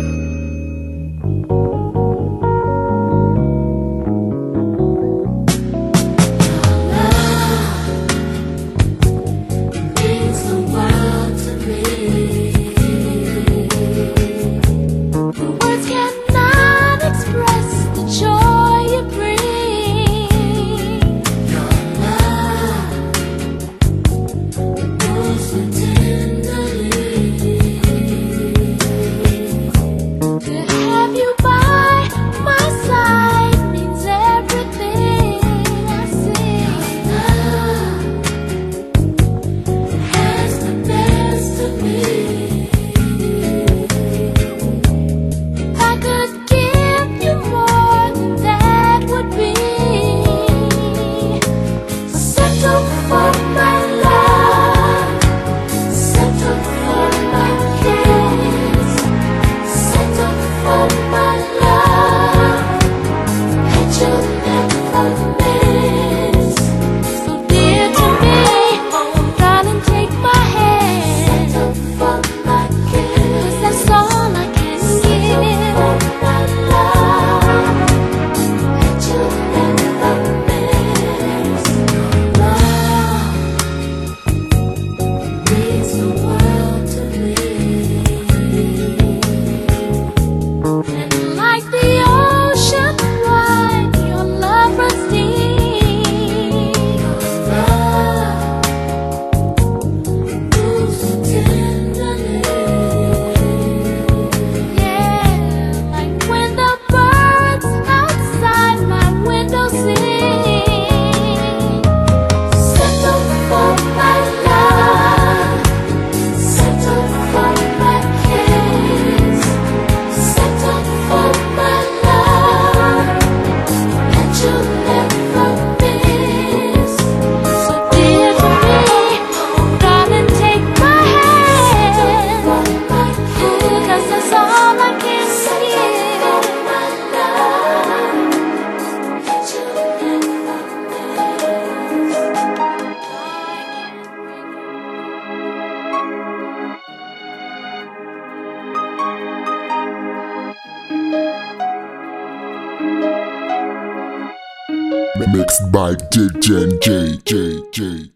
Mixed by D J J J J.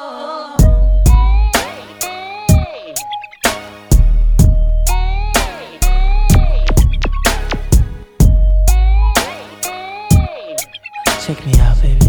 Check me out, baby.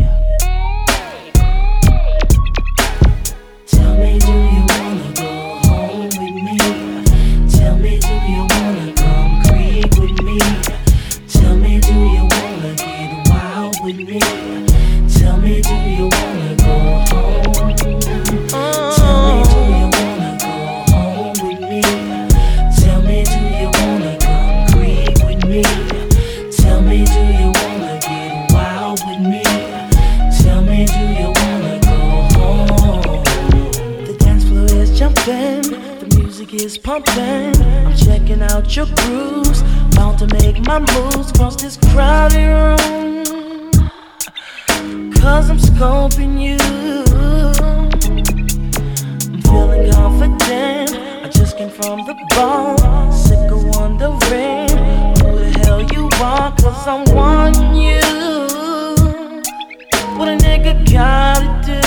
Tell me, do you wanna go home with me? Tell me, do you wanna come creep with me? Tell me, do you wanna get wild with me? Tell me, do you wanna go home? Tell me, do you wanna go home with me? Tell me, do you wanna come creep with me? Tell me, do you wanna get wild with me? Tell me, do you wanna go home? The dance floor is jumping, the music is pumping. I'm checking out your grooves, bound to make my moves across this crowded room. Cause I'm scoping you, I'm feeling confident. I just came from the ball, sick of wondering who the hell you are. Cause I'm wanting you, what a nigga gotta do.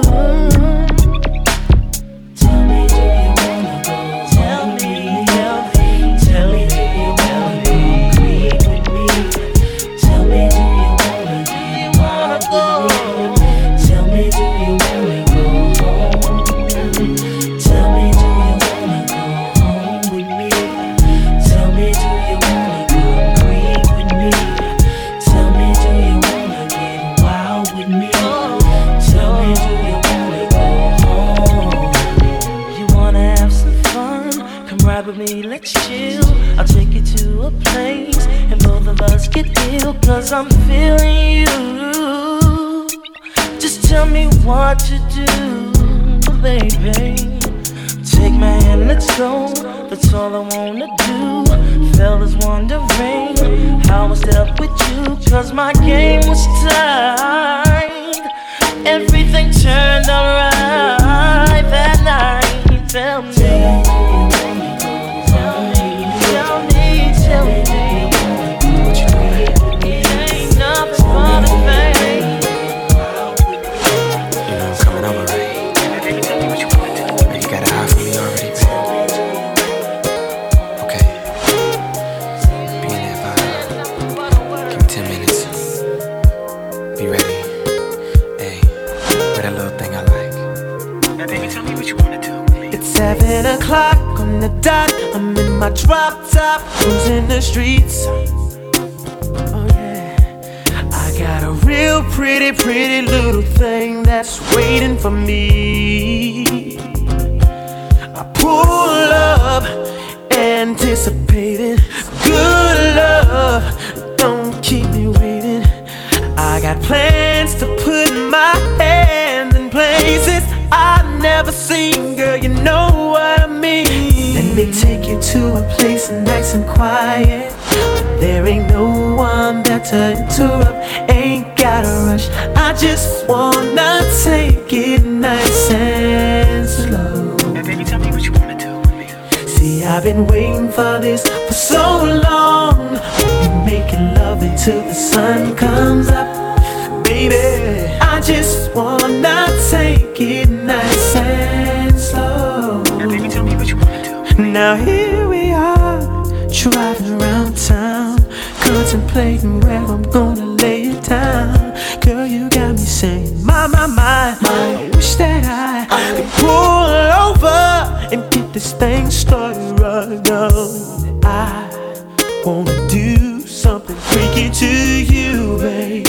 Tell me, do you wanna go? Tell me, tell me, tell me, do you wanna go creep with me? Tell me, do you wanna get wild with me? Tell me, do you wanna go home? Tell me, do you wanna go home with me? Tell me, do you wanna go creep with me? Tell me, do you wanna get wild with me? Tell me, do you wanna go home? You wanna have some fun? Come ride with me, let's chill. I'll take you to a place and both of us get ill. Cause I'm feeling you. Just tell me what to do, baby. Take my hand, let's go. That's all I wanna do. Fellas wondering how I step with you. Cause my game was tight, everything turned out right that night. Tell me, Seven o'clock on the dot, I'm in my drop top, cruising the streets. Oh yeah, I got a real pretty, pretty little thing that's waiting for me. I pull up, anticipating good love. Don't keep me waiting. I got plans to put my hands in places I've never seen, girl, you know what I mean. Let me take you to a place nice and quiet. There ain't no one there to interrupt, ain't gotta rush. I just wanna take it nice and slow. Now baby, tell me what you wanna do with me. See, I've been waiting for this for so long. We'll be making love until the sun comes up. Baby, I just wanna take it nice and slow. Now baby, tell me what you wanna do. Now here we are, driving around town, contemplating where I'm gonna lay it down. Girl, you got me saying, my, my, my, I wish that I could pull over and get this thing started right now. I wanna do something freaky to you, babe.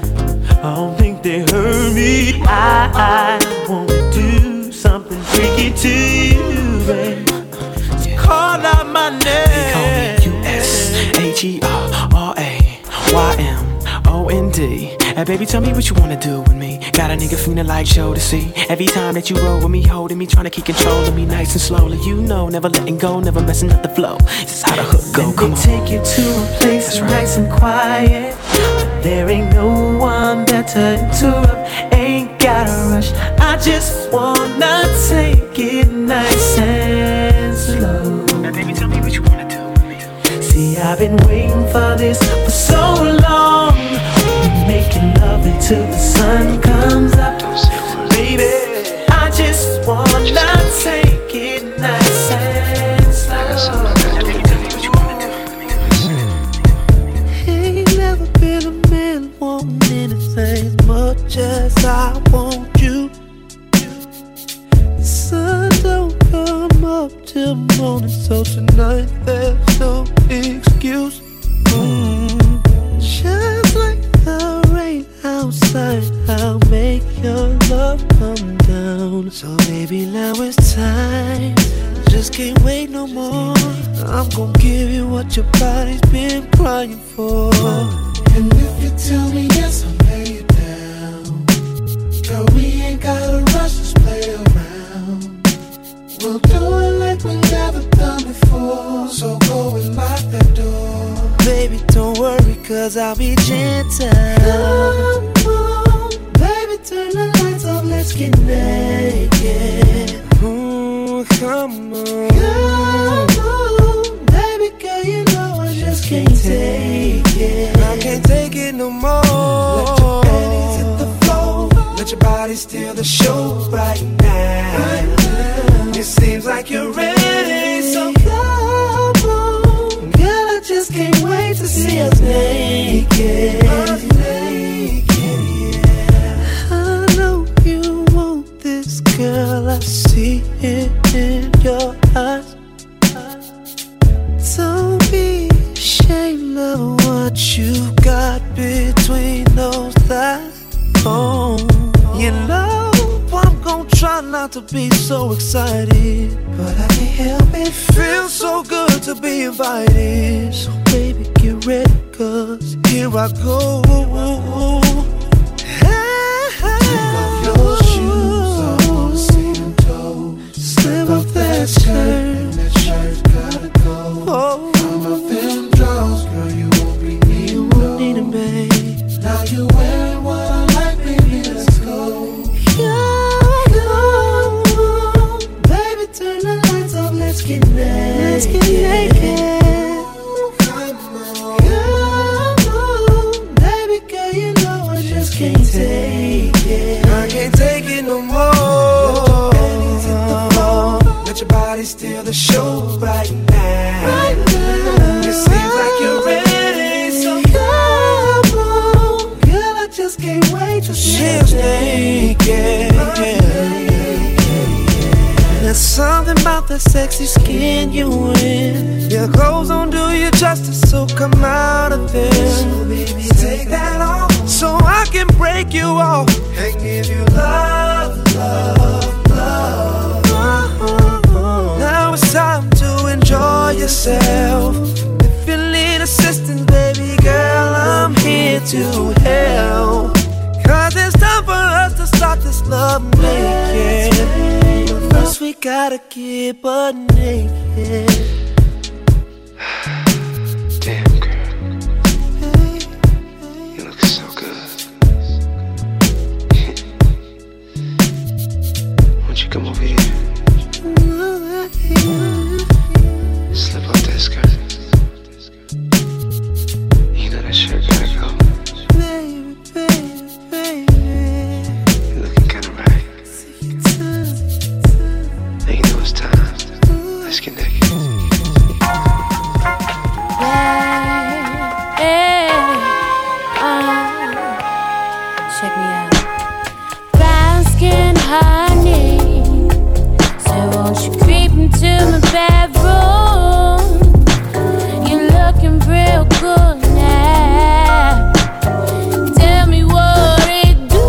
I don't think they heard me. I, I wanna do something freaky to you, babe. So call out my name. They call me U S H E R R A Y M O N D. And baby, tell me what you wanna do with me. Got a nigga feeling like show to see. Every time that you roll with me, holding me, trying to keep control of me nice and slowly. You know, never letting go, never messing up the flow. This is how the hook go. Let Come me on. Take you to a place that's right. Nice and quiet. There ain't no one there to interrupt, ain't gotta rush. I just wanna take it nice and slow. Now baby, tell me what you wanna do with me. See, I've been waiting for this for so long. We'll be making love until the sun comes up. Baby, I just wanna take it nice and slow. Now baby, tell me what you wanna do with me. Ain't never been a man wanting anything as much as I want you. The sun don't come up till morning, so tonight there's no excuse. Mm. Just like the rain outside, I'll make your love come down. So baby, now it's time. Just can't wait no more. I'm gonna give you what your body's been crying for. And if you tell me yes, I'll lay it down. Girl, we ain't gotta rush, just play around. We'll do it like we never done before. So go and lock that door. Baby, don't worry, cause I'll be gentle. Come on, baby, turn the lights off, let's get naked. Ooh, come on. Come on, baby girl, you know I just can't take it. I can't take it no more. Let your panties hit the floor. Let your body steal the show right now. Right now. It seems like you're ready, so come on. Girl, I just can't wait to see us naked. Us naked, yeah. I know you want this, girl. I see it in your eyes. Don't be ashamed of what you got between those thighs. Oh, you know I'm gonna try not to be so excited, but I can't help it. Feels so good to be invited. So baby, get ready, cause here I go. Take off your shoes, I wanna see them toes. Slip off that skirt, that shirt's gotta go. Oh. I'm off them drawers, girl, you won't be needing those. Need 'em, babe. Now you're wearing what I like, baby, let's go. Come on, baby, turn the lights off, let's get naked. Let's get naked. Come on, come on, baby girl, you know I just can't take it. I can't take it no more. Let your panties hit the floor. Let your body steal the show right now. Right now. It seems like you're ready, so come on. Girl, I just can't wait to see us naked. There's some Something about that sexy skin you in. Your clothes don't do you justice, so come out of them. So baby, take that off, so I can break you off and give you love, love, love. Uh-huh. Now it's time to enjoy yourself. If you need assistance, baby girl, I'm here to help. Cause it's time for us to start this love making. But first we gotta get butt naked. Damn girl, you look so good. Won't you come over here? Slip off that skirt. You know that shirt gotta go. Baby, baby, baby. You're looking kinda right. Now you know it's time. Let's get naked. Check me out. Brown skin honey, so won't you creep into my bedroom? You're looking real good now. Tell me what it do.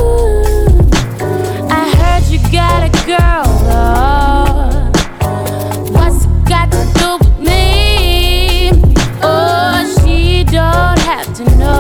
I heard you got a girl, Lord. What's it got to do with me? Oh, she don't have to know.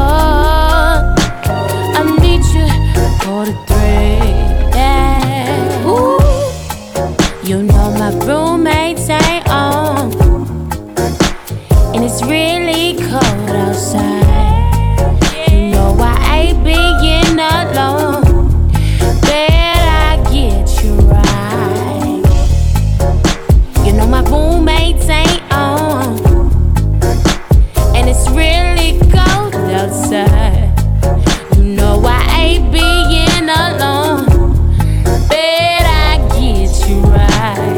I meet you for the three. Yeah. Ooh. You know my roommates ain't on, and it's really cold outside. You know I ain't being alone. Bet I get you right. You know my roommates ain't on, and it's really cold outside. You know I ain't being alone. Bet I get you right.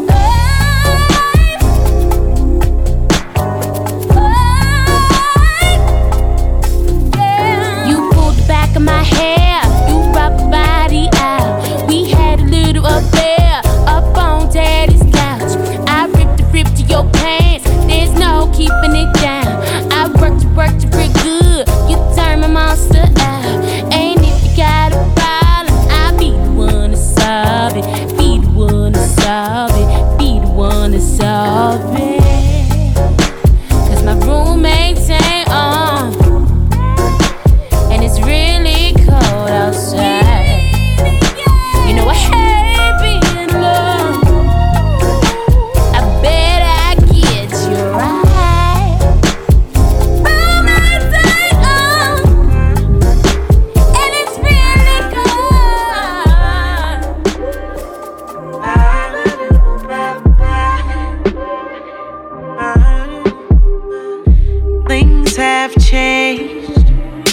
You pulled the back of my hair, you rubbed my body out. We had a little affair up on daddy's couch. I ripped the rip to your pants, there's no keeping it down. I worked you, worked you real good, you turn my monster out. And if you got a problem, I'll be the one to solve it. Be the one to solve it, be the one to solve it. Cause my roommates ain't on, and it's really cold outside. You know I hate being alone. I bet I get you right. Roommates ain't on, and it's really Things have changed.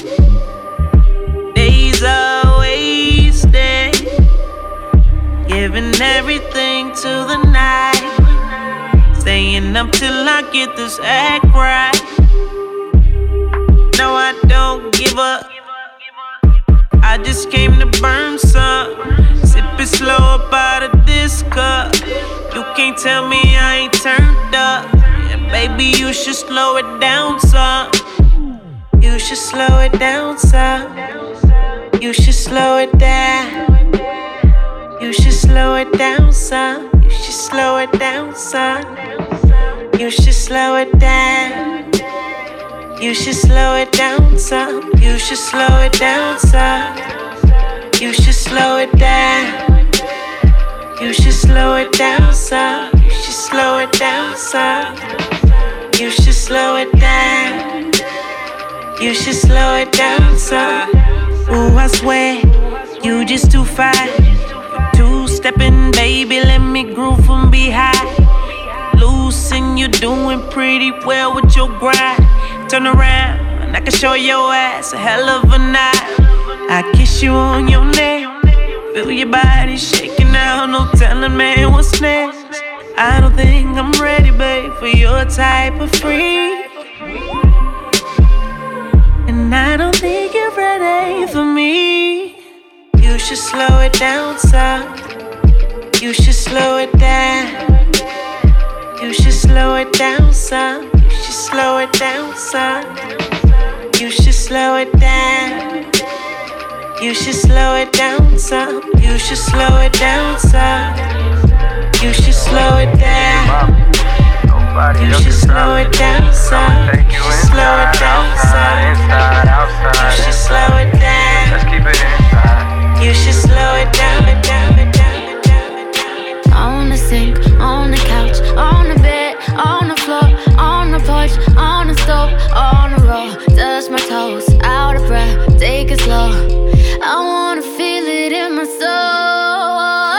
Days are wasted, giving everything to the night, staying up till I get this act right. No, I don't give up. I just came to burn some. Sip it slow up out of this cup. You can't tell me I ain't turned up. Yeah, baby, you should slow it down some. You should slow it down some. You should slow it down. You should slow it down some. You should slow it down some. You should slow it down. You should slow it down some. You should slow it down some. You should slow it down. You should slow it down some. You should slow it down some. You should slow it down. You should slow it down some. Ooh, I swear, you just too fine. Two-stepping, baby, let me groove from behind. Loose and you doing pretty well with your grind. Turn around and I can show your ass a hell of a night. I kiss you on your neck, feel your body shaking out, no telling man what's next. I don't think I'm ready, babe, for your type of freak. And I don't think you're ready for me. You should slow it down some. You should slow it down. You should slow it down some. You should slow it down some. You should slow it down. You should slow it down some. You should slow it down some. You should slow it down. You should slow it down some. You should slow it down some. You should slow it down. Let's keep it inside. You should slow it down, it down, it down, it down, it down. On the sink, on the couch, on the bed, on the floor, on the porch, on the stove, on the road. Touch my toes, out of breath, take it slow. I wanna feel it in my soul.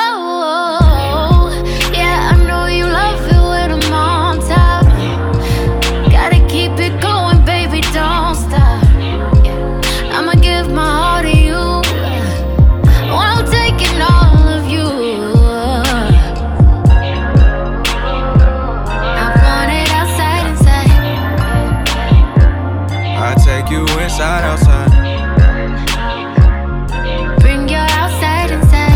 Yeah, I know you love it when I'm on top. Gotta keep it going, baby, don't stop. Yeah, I'ma give my heart to you. Well, I'm taking all of you. I want it outside, inside. I take you inside, outside. Bring your outside, inside.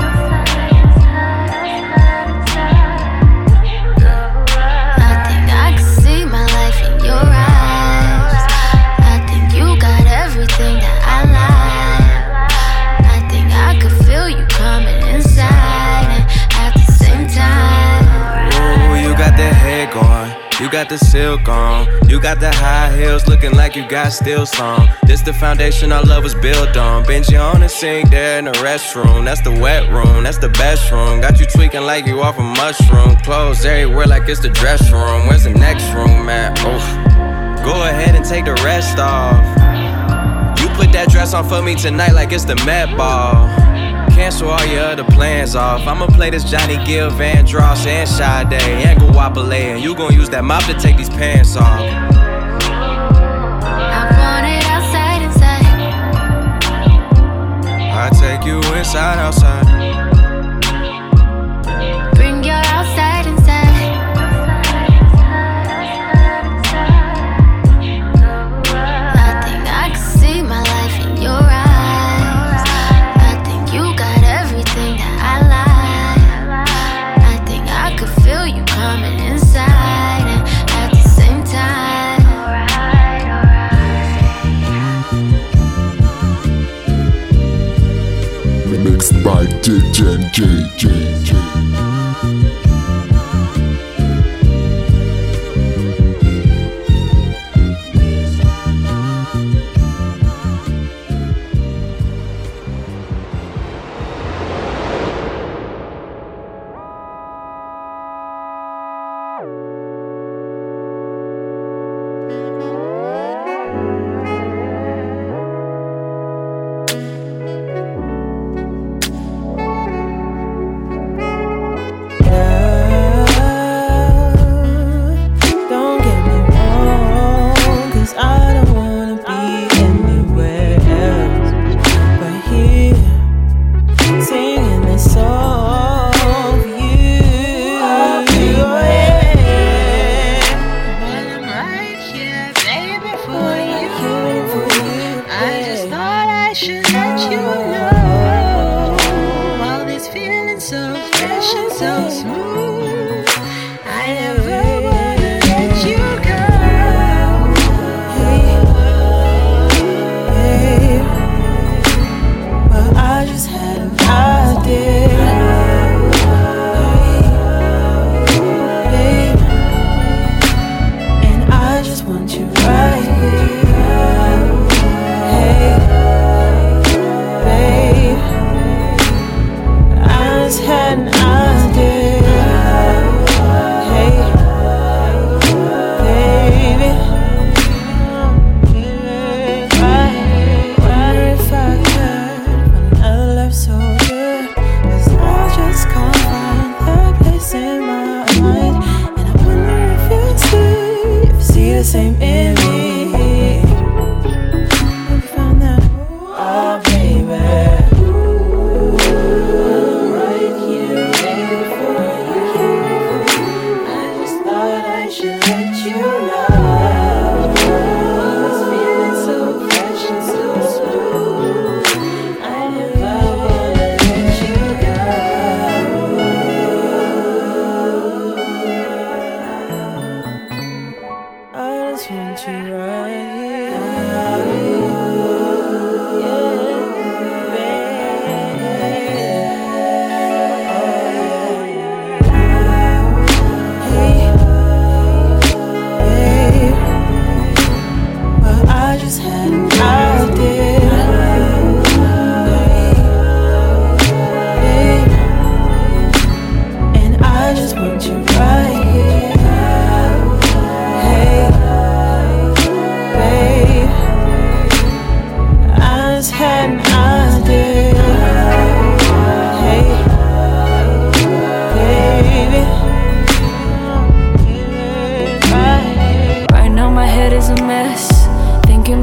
I think I can see my life in your eyes. I think you got everything that I like. I think I could feel you coming inside and at the same time. Ooh, you got that head going. You got the silk on. You got the high heels looking like you got steel song. This the foundation our love was built on. Benji on the sink there in the restroom. That's the wet room, that's the best room. Got you tweaking like you off a mushroom. Clothes everywhere like it's the dress room. Where's the next room at? Oof. Go ahead and take the rest off. You put that dress on for me tonight like it's the Met Ball. Cancel all your other plans off. I'ma play this Johnny Gill, Van Dross, and Sade, and Guapale, and you gon' use that mop to take these pants off. I want it outside, inside. I take you inside, outside. Bring your outside, inside. I think I can see my life in your eyes. I think you got everything that I like. I think I could feel you coming inside and at the same time. Mixed by D J J J J.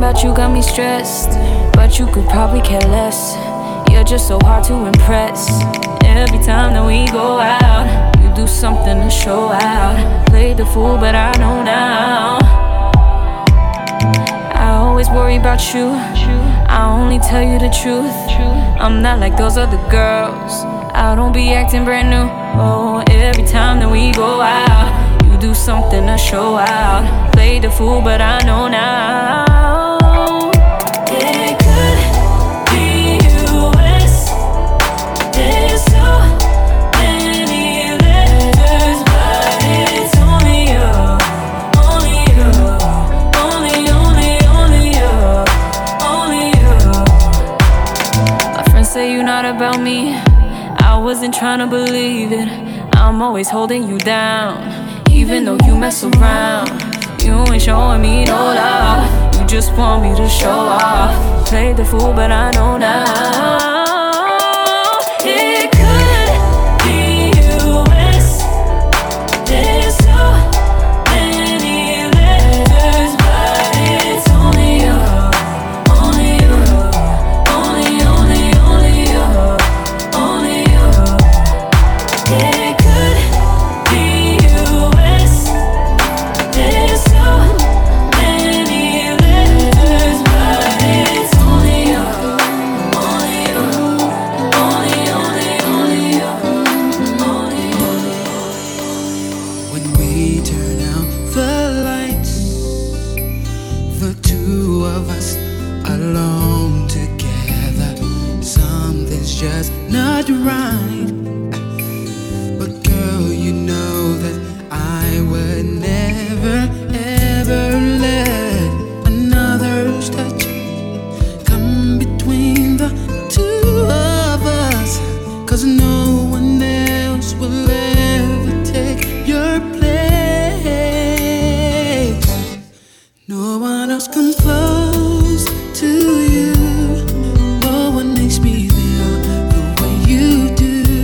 about you got me stressed, but you could probably care less. You're just so hard to impress. Every time that we go out, you do something to show out. Played the fool, but I know now. I always worry about you, I only tell you the truth. I'm not like those other girls, I don't be acting brand new. Oh, every time that we go out, you do something to show out. Played the fool, but I know now. It could be U S. There's so many letters, but it's only you, only you, only, only, only you, only you. My friends say you're not about me, I wasn't trying to believe it. I'm always holding you down, even though you mess around. You ain't showing me no love, you just want me to show off. Played the fool, but I know now. It could be U S. There's so many letters, but it's only you, only you, only, only, only you, only you. It could be U S. There's so many letters, but it's only you, only you, only, only, only you, only you. When we turn out the lights, the two of us alone together, something's just not right. But girl, you know that I would never, ever let another's touch come between the two of us. Cause no one else will ever take your place. No one else comes close to you. No one makes me feel the way you do.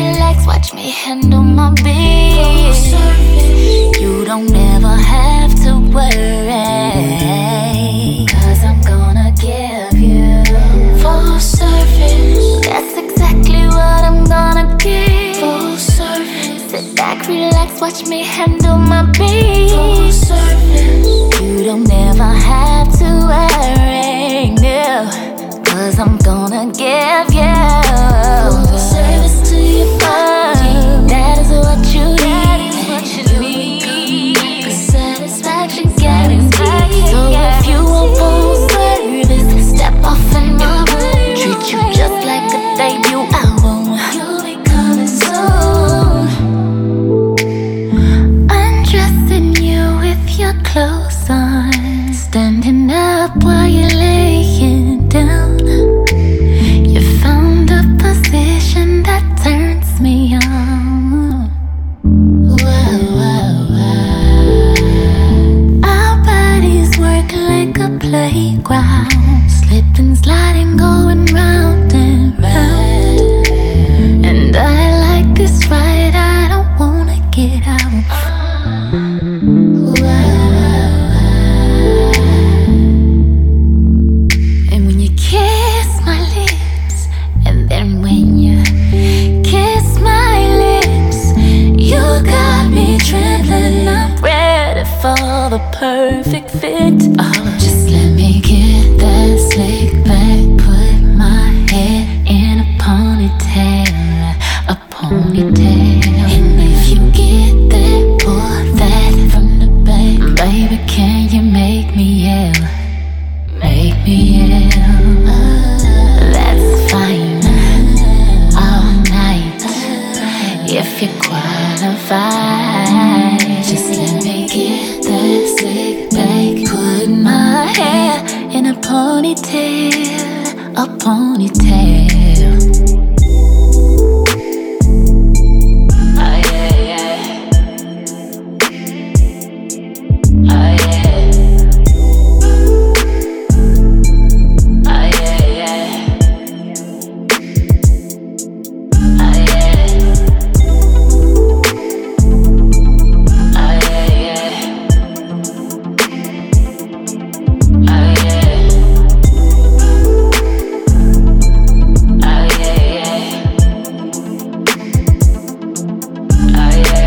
relax, watch me handle my business. You don't ever have to worry, cause I'm gonna give you full service. That's exactly what I'm gonna give. Full service. Sit back, relax, watch me handle my business. Full service. You don't ever have to worry, no, cause I'm gonna give you full service to your body. That is what you need. That is what you need. The satisfaction guaranteed. So if you want full service, step off in my room. Treat you just like a debut album. You'll be coming soon. Undressing you with your clothes on, standing up while you're laying down. You found a position that turns me on. Wow, wow, wow. Our bodies work like a playground, slipping, sliding, going round and round. And I like this ride, I don't wanna get out. And when you kiss my lips, and then when you kiss my lips, you got me trembling. I'm ready for the perfect fit. Oh, just let me get that slick back, put my head in a ponytail, a ponytail. And if you get that, pull that from the back, baby, can you make me yell? Make me yell. That's fine. All night, if you qualify. Just let me get that slick back, put my hair in a ponytail, a ponytail. Oh yeah, yeah. Oh yeah. Oh yeah, yeah. Oh yeah. Oh yeah, yeah. Oh yeah. Oh yeah, yeah. Oh yeah.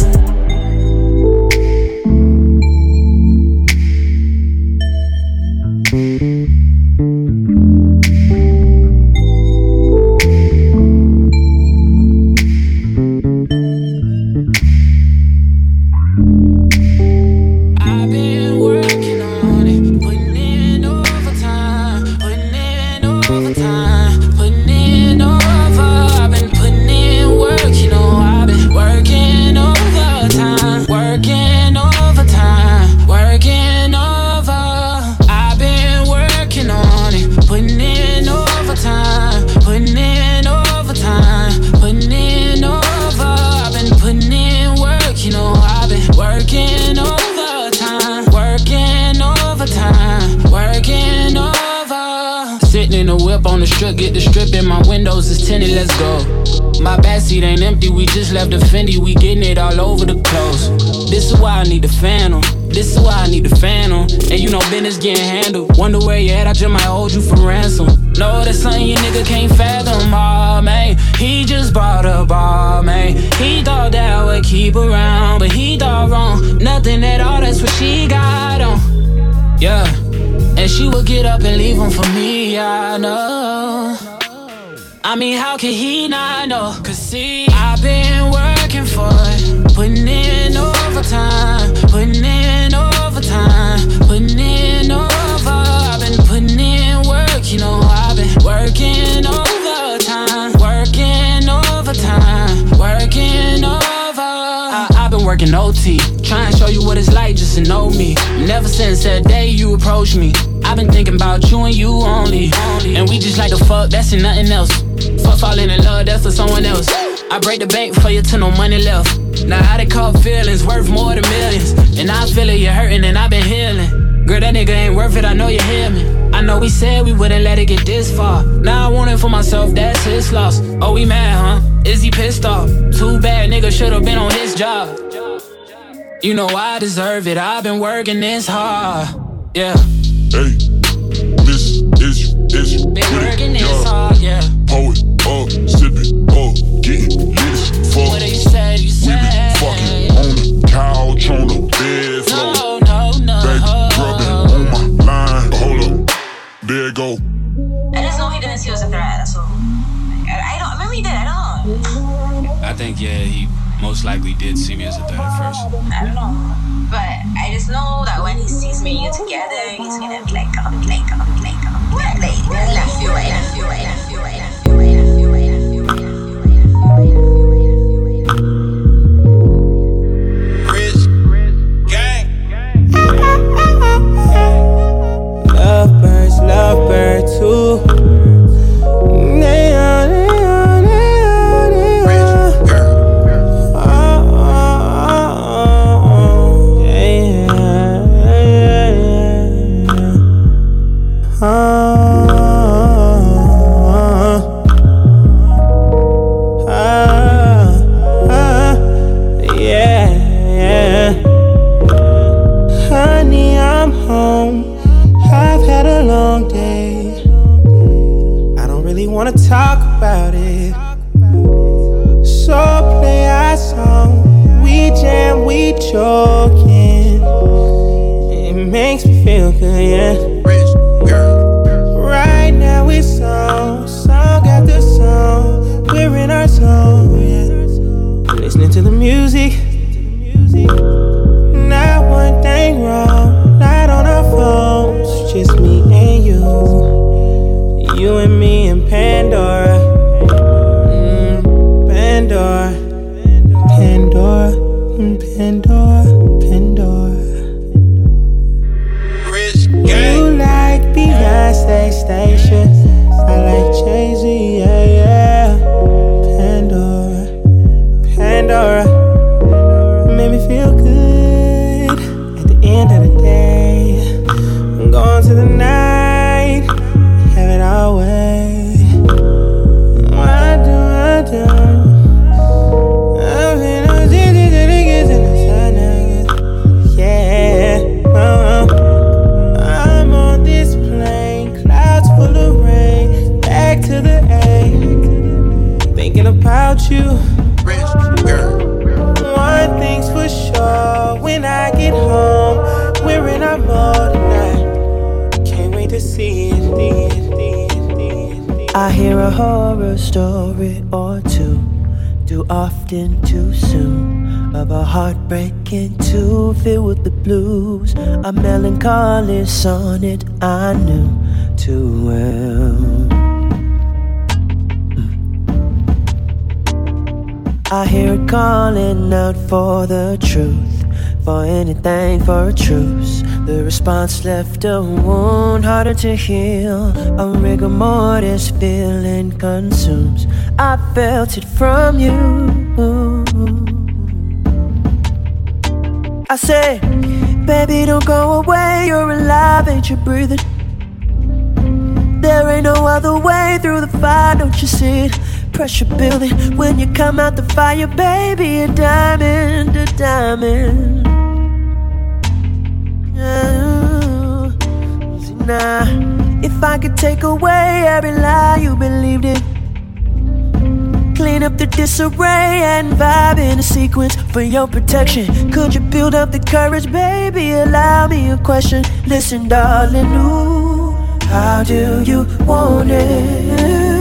I've been working on it, putting in overtime, putting in overtime, putting in over. I've been putting in work, you know, I've been working overtime, working overtime, working over. I've been working on it, putting in overtime, putting in overtime, putting in over. I've been putting in work, you know, I've been working overtime, working overtime, working over. Sitting in the whip on the strip, get the strip in my windows is tinted, let's go. My backseat ain't empty, we just left the Fendi, we getting it all over the clothes. This is why I need the phantom, this is why I need the phantom. And you know business getting handled, wonder where you at, I just might hold you for ransom. No, that's something you nigga can't fathom, aw man. He just bought a bar, man. He thought that would keep around, but he thought wrong. Nothing at all, that's what she got on. Yeah, and she would get up and leave him for me, I know. I mean, how can he not know? Cause see, I've been working for it, putting in overtime, putting in overtime, putting in over. I've been putting in work, you know, I've been working overtime, working overtime, working over. I, I've been working O T, trying to show you what it's like just to know me. Never since that day you approached me, I've been thinking about you and you only. And we just like to fuck, that's and nothing else. Fuck falling in love, that's for someone else. I break the bank for you till no money left. Now how they call feelings worth more than millions. And I feel it, you're hurting and I've been healing. Girl, that nigga ain't worth it, I know you hear me. I know we said we wouldn't let it get this far. Now I want it for myself, that's his loss. Oh, we mad, huh? Is he pissed off? Too bad, nigga should've been on his job. You know I deserve it, I've been working this hard. Yeah. Hey, this is, is, been working this hard, yeah. Pour it up, sip it up, getting lit as fuck. What you said, you said. We been fucking on the couch, on the bed floor. No, no, no. Baby rubbing on my line. Hold up, there it go. I just know he didn't see us a threat, so. I, I don't, maybe he did, I don't know. I think, yeah, he most likely did see me as a threat at first. I don't know. But I just know that when he sees me and you together, he's gonna be like, oh, be like, oh, be like, oh, be like, like, left you right, left you right, left you right, left you right, left you right, left you right, left you right, left you right, left you right, left you right. Rich gang. Lovebirds, lovebird too. Wanna talk about it. So play our song. We jam, we joking. It makes me feel good, yeah. Rich girl. Right now it's on, song after song. We're in our zone, yeah. Listening to the music. Not one thing wrong, not on our phones. Just me and you. You and me and Pandora, mm, Pandora, Pandora, mm, Pandora, Pandora. Rich gang. You like Beyonce Station, I like Jay-Z, yeah, yeah. Pandora, Pandora, made me feel good. At the end of the day, I'm going to the night. Have it our way. What do I do? I've been on city to the kids in the sun. Yeah. Uh-huh. I'm on this plane, clouds full of rain. Back to the A. Thinking about you. Rich girl. One thing's for sure. When I get home, we're in our mode tonight. Can't wait to see it. See it. I hear a horror story or two, too often, too soon, of a heartbreaking too filled with the blues. A melancholy sonnet I knew too well. mm. I hear it calling out for the truth, for anything, for a truce. The response left a wound harder to heal. A rigor mortis feeling consumes. I felt it from you. I say, baby, don't go away. You're alive, ain't you breathing? There ain't no other way through the fire, don't you see it? Pressure building when you come out the fire, baby. A diamond, a diamond. Nah, if I could take away every lie you believed in, clean up the disarray and vibe in a sequence for your protection. Could you build up the courage, baby? Allow me a question. Listen, darling, ooh, how do you want it?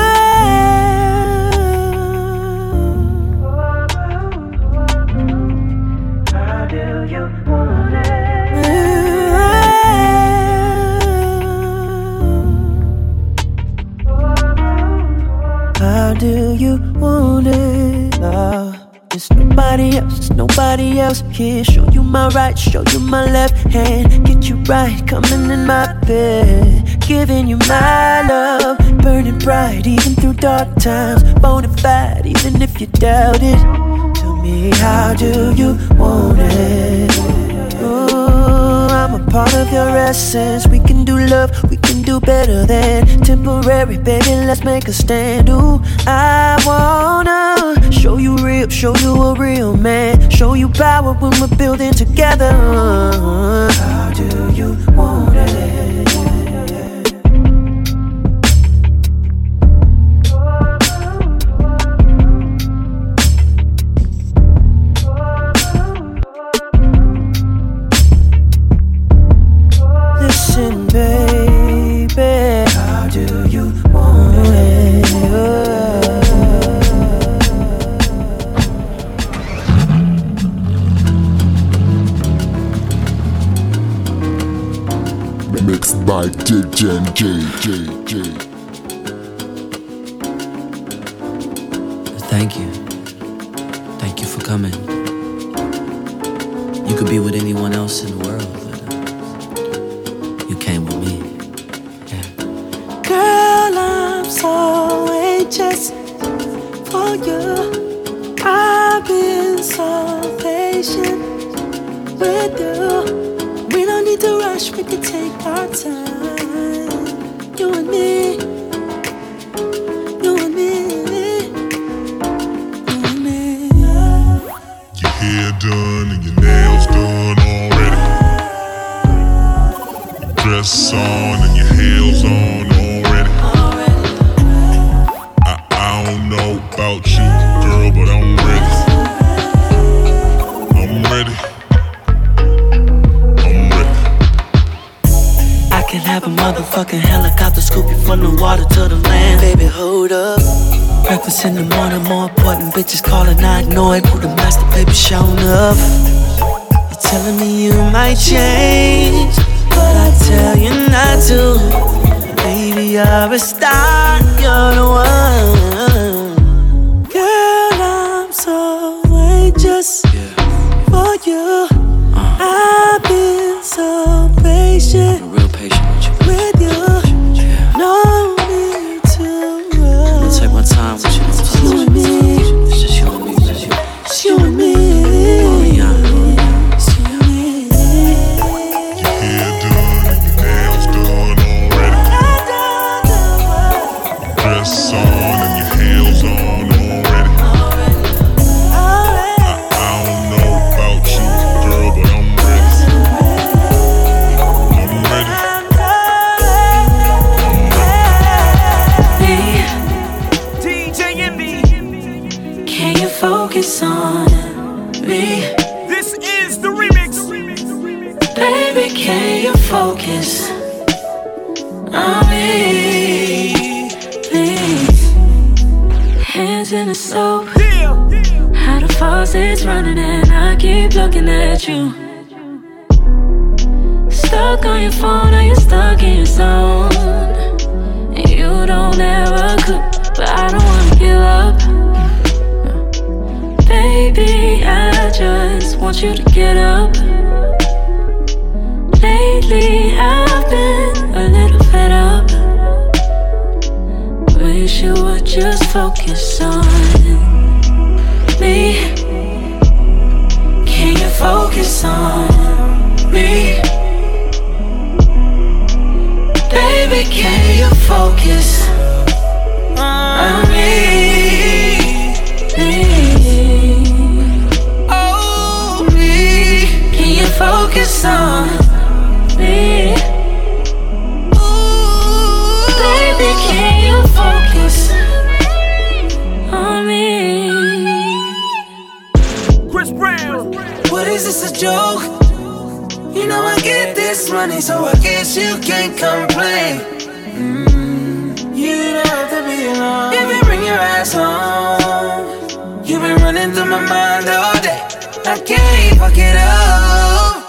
How do you want it? Oh, it's nobody else, it's nobody else here. Show you my right, show you my left hand. Get you right, coming in my bed. Giving you my love, burning bright even through dark times. Bonafide even if you doubt it. Tell me, how do you want it? Ooh, I'm a part of your essence. We can do love, we can do better than temporary, baby, let's make a stand. Ooh, I wanna show you real, show you a real man, show you power when we're building together. How do you want it? Listen, baby, how do you want it? Mixed by D J J J J. Thank you. Thank you for coming. You could be with anyone else in the world, but uh, you came with me. Yeah. Girl, I'm so anxious for you. I've been so patient with you. We don't need to rush, we can take our time. You and me, you and me, you and me. Your hair done and your nails done already. Your dress on and your heels on already. I, I don't know about you, girl, but I'm ready. I'm ready. I can have a motherfucking helicopter scoop you from the water to the land. Baby, hold up. Breakfast in the morning, more important bitches calling, I ignore it. Who the master, baby, showing up. You're telling me you might change, but I tell you not to. Baby, you're a star, you're the one. Girl, I'm so anxious for you. I've been so patient. I'm real patient with you. With you, yeah. No need to rush. I'm gonna take my time with you. It's you and me. It's just you and me, it's you. It's you and me. Oh, yeah. It's you and me. Your hair done and your nails done already. Your dress on and your heels on already. I, I don't know about you, girl, but I'm ready. I'm ready. D J Envy, can you focus on me? This is the remix. Baby, can you focus on me? Please. Hands in the soap. How the faucet's running and I keep looking at you. Stuck on your phone or you're stuck in your zone. And you don't ever cook, but I don't wanna give up. Baby, I just want you to get up. Lately I've been a little fed up. Wish you would just focus on me. Can you focus on me? Baby, can you focus on me? Oh, me. Can you focus on me? Ooh, baby, can you focus on me? Chris Brown. What is this, a joke? You know I get this money, so I guess you can't complain. Mm, you don't have to be alone. Baby, bring your ass home. You've been running through my mind all day. I can't fuck it up.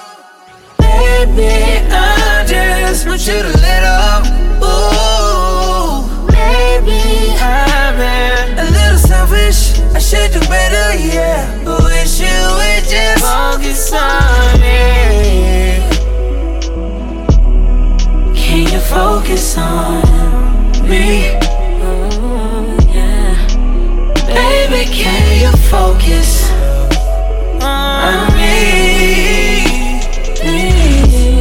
Baby, I just want you to let up. Ooh, maybe I've been a little selfish. I should do better, yeah. But wish you would just focus on me. Can you focus on me? Ooh, yeah. Baby, can you focus on me? Please.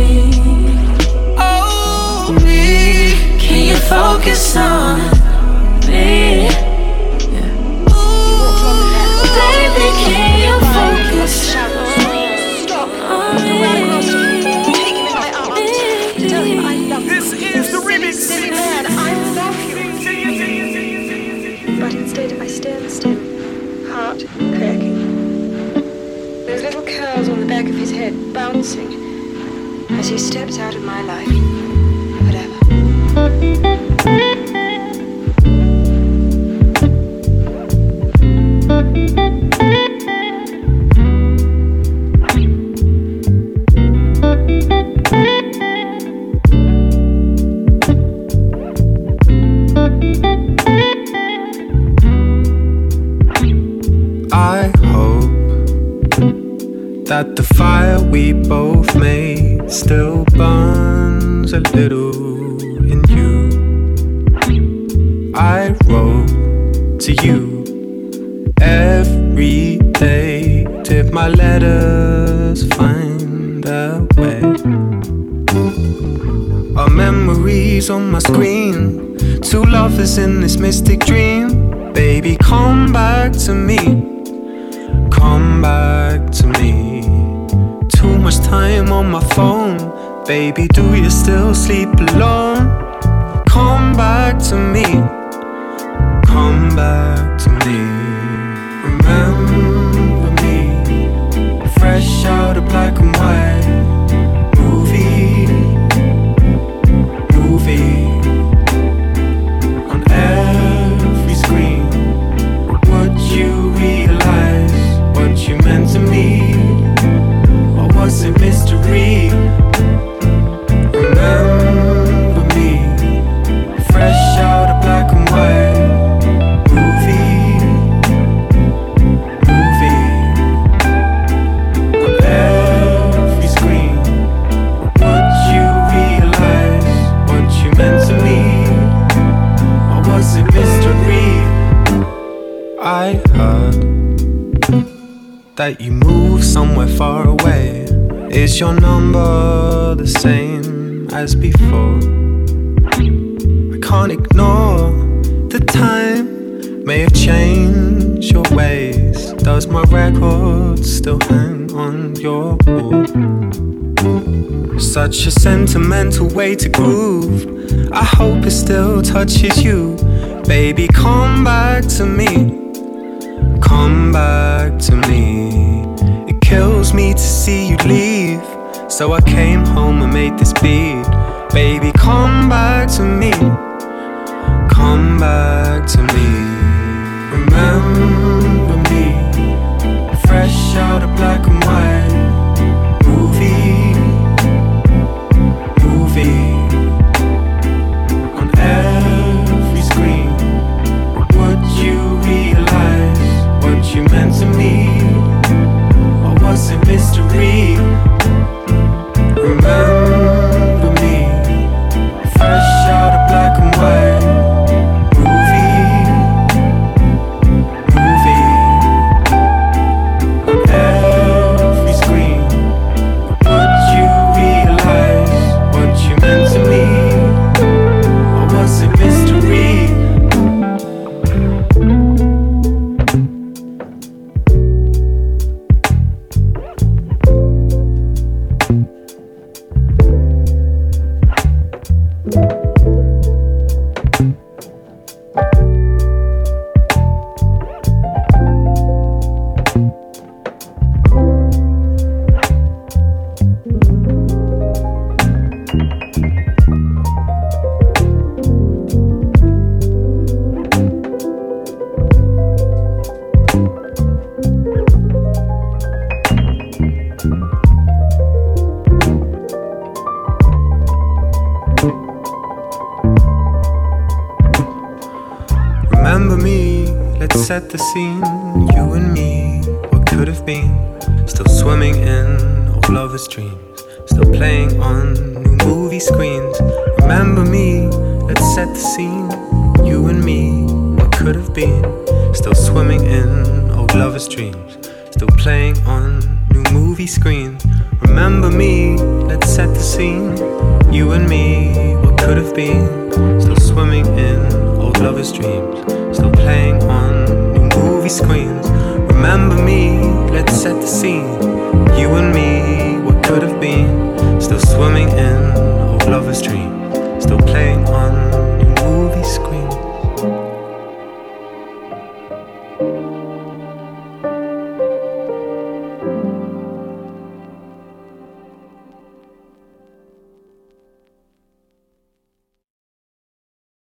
heart cracking. Those little curls on the back of his head bouncing as he steps out of my life. Whatever. I hope that the fire we both made still burns a little in you. I wrote to you every day. Did my letters find their way? Our memories on my screen, two lovers in this mystic dream. Baby, come back to me. Come back to me. Too much time on my phone. Baby, do you still sleep alone? Come back to me. Come back to me. Remember me. Fresh out of black and white. Movie. Movie. On every screen. Would you realize what you meant to me? Or was it mystery? Remember me. Fresh out of black and white. Movie. Movie. On every screen. Would you realize what you meant to me? Or was it mystery? I heard that you moved somewhere far away. Is your number the same as before? I can't ignore the time may have changed your ways. Does my record still hang on your wall? Such a sentimental way to groove. I hope it still touches you. Baby, come back to me. Come back to me. It kills me to see you leave, so I came home and made this beat. Baby, come back to me. Come back to me. Remember me. Fresh out of black and white. Movie. Movie. On every screen. Would you realize what you meant to me? Or was it mystery? Remember me. Fresh out of black and white. Movie. Movie. On every screen. Would you realize what you meant to me? Or was it mystery? Remember me, let's set the scene. You and me, what could have been. Still swimming in old lovers' dreams. Still playing on new movie screens. Remember me, let's set the scene. You and me, what could have been. Still swimming in old lovers' dreams. Still playing on new movie screens. Remember me, let's set the scene. You and me, what could have been. Still swimming in old lovers' dreams. Still playing on new movie screens. Remember me, let's set the scene. You and me, what could have been. Still swimming in old lovers' dreams. Still playing on new movie screens.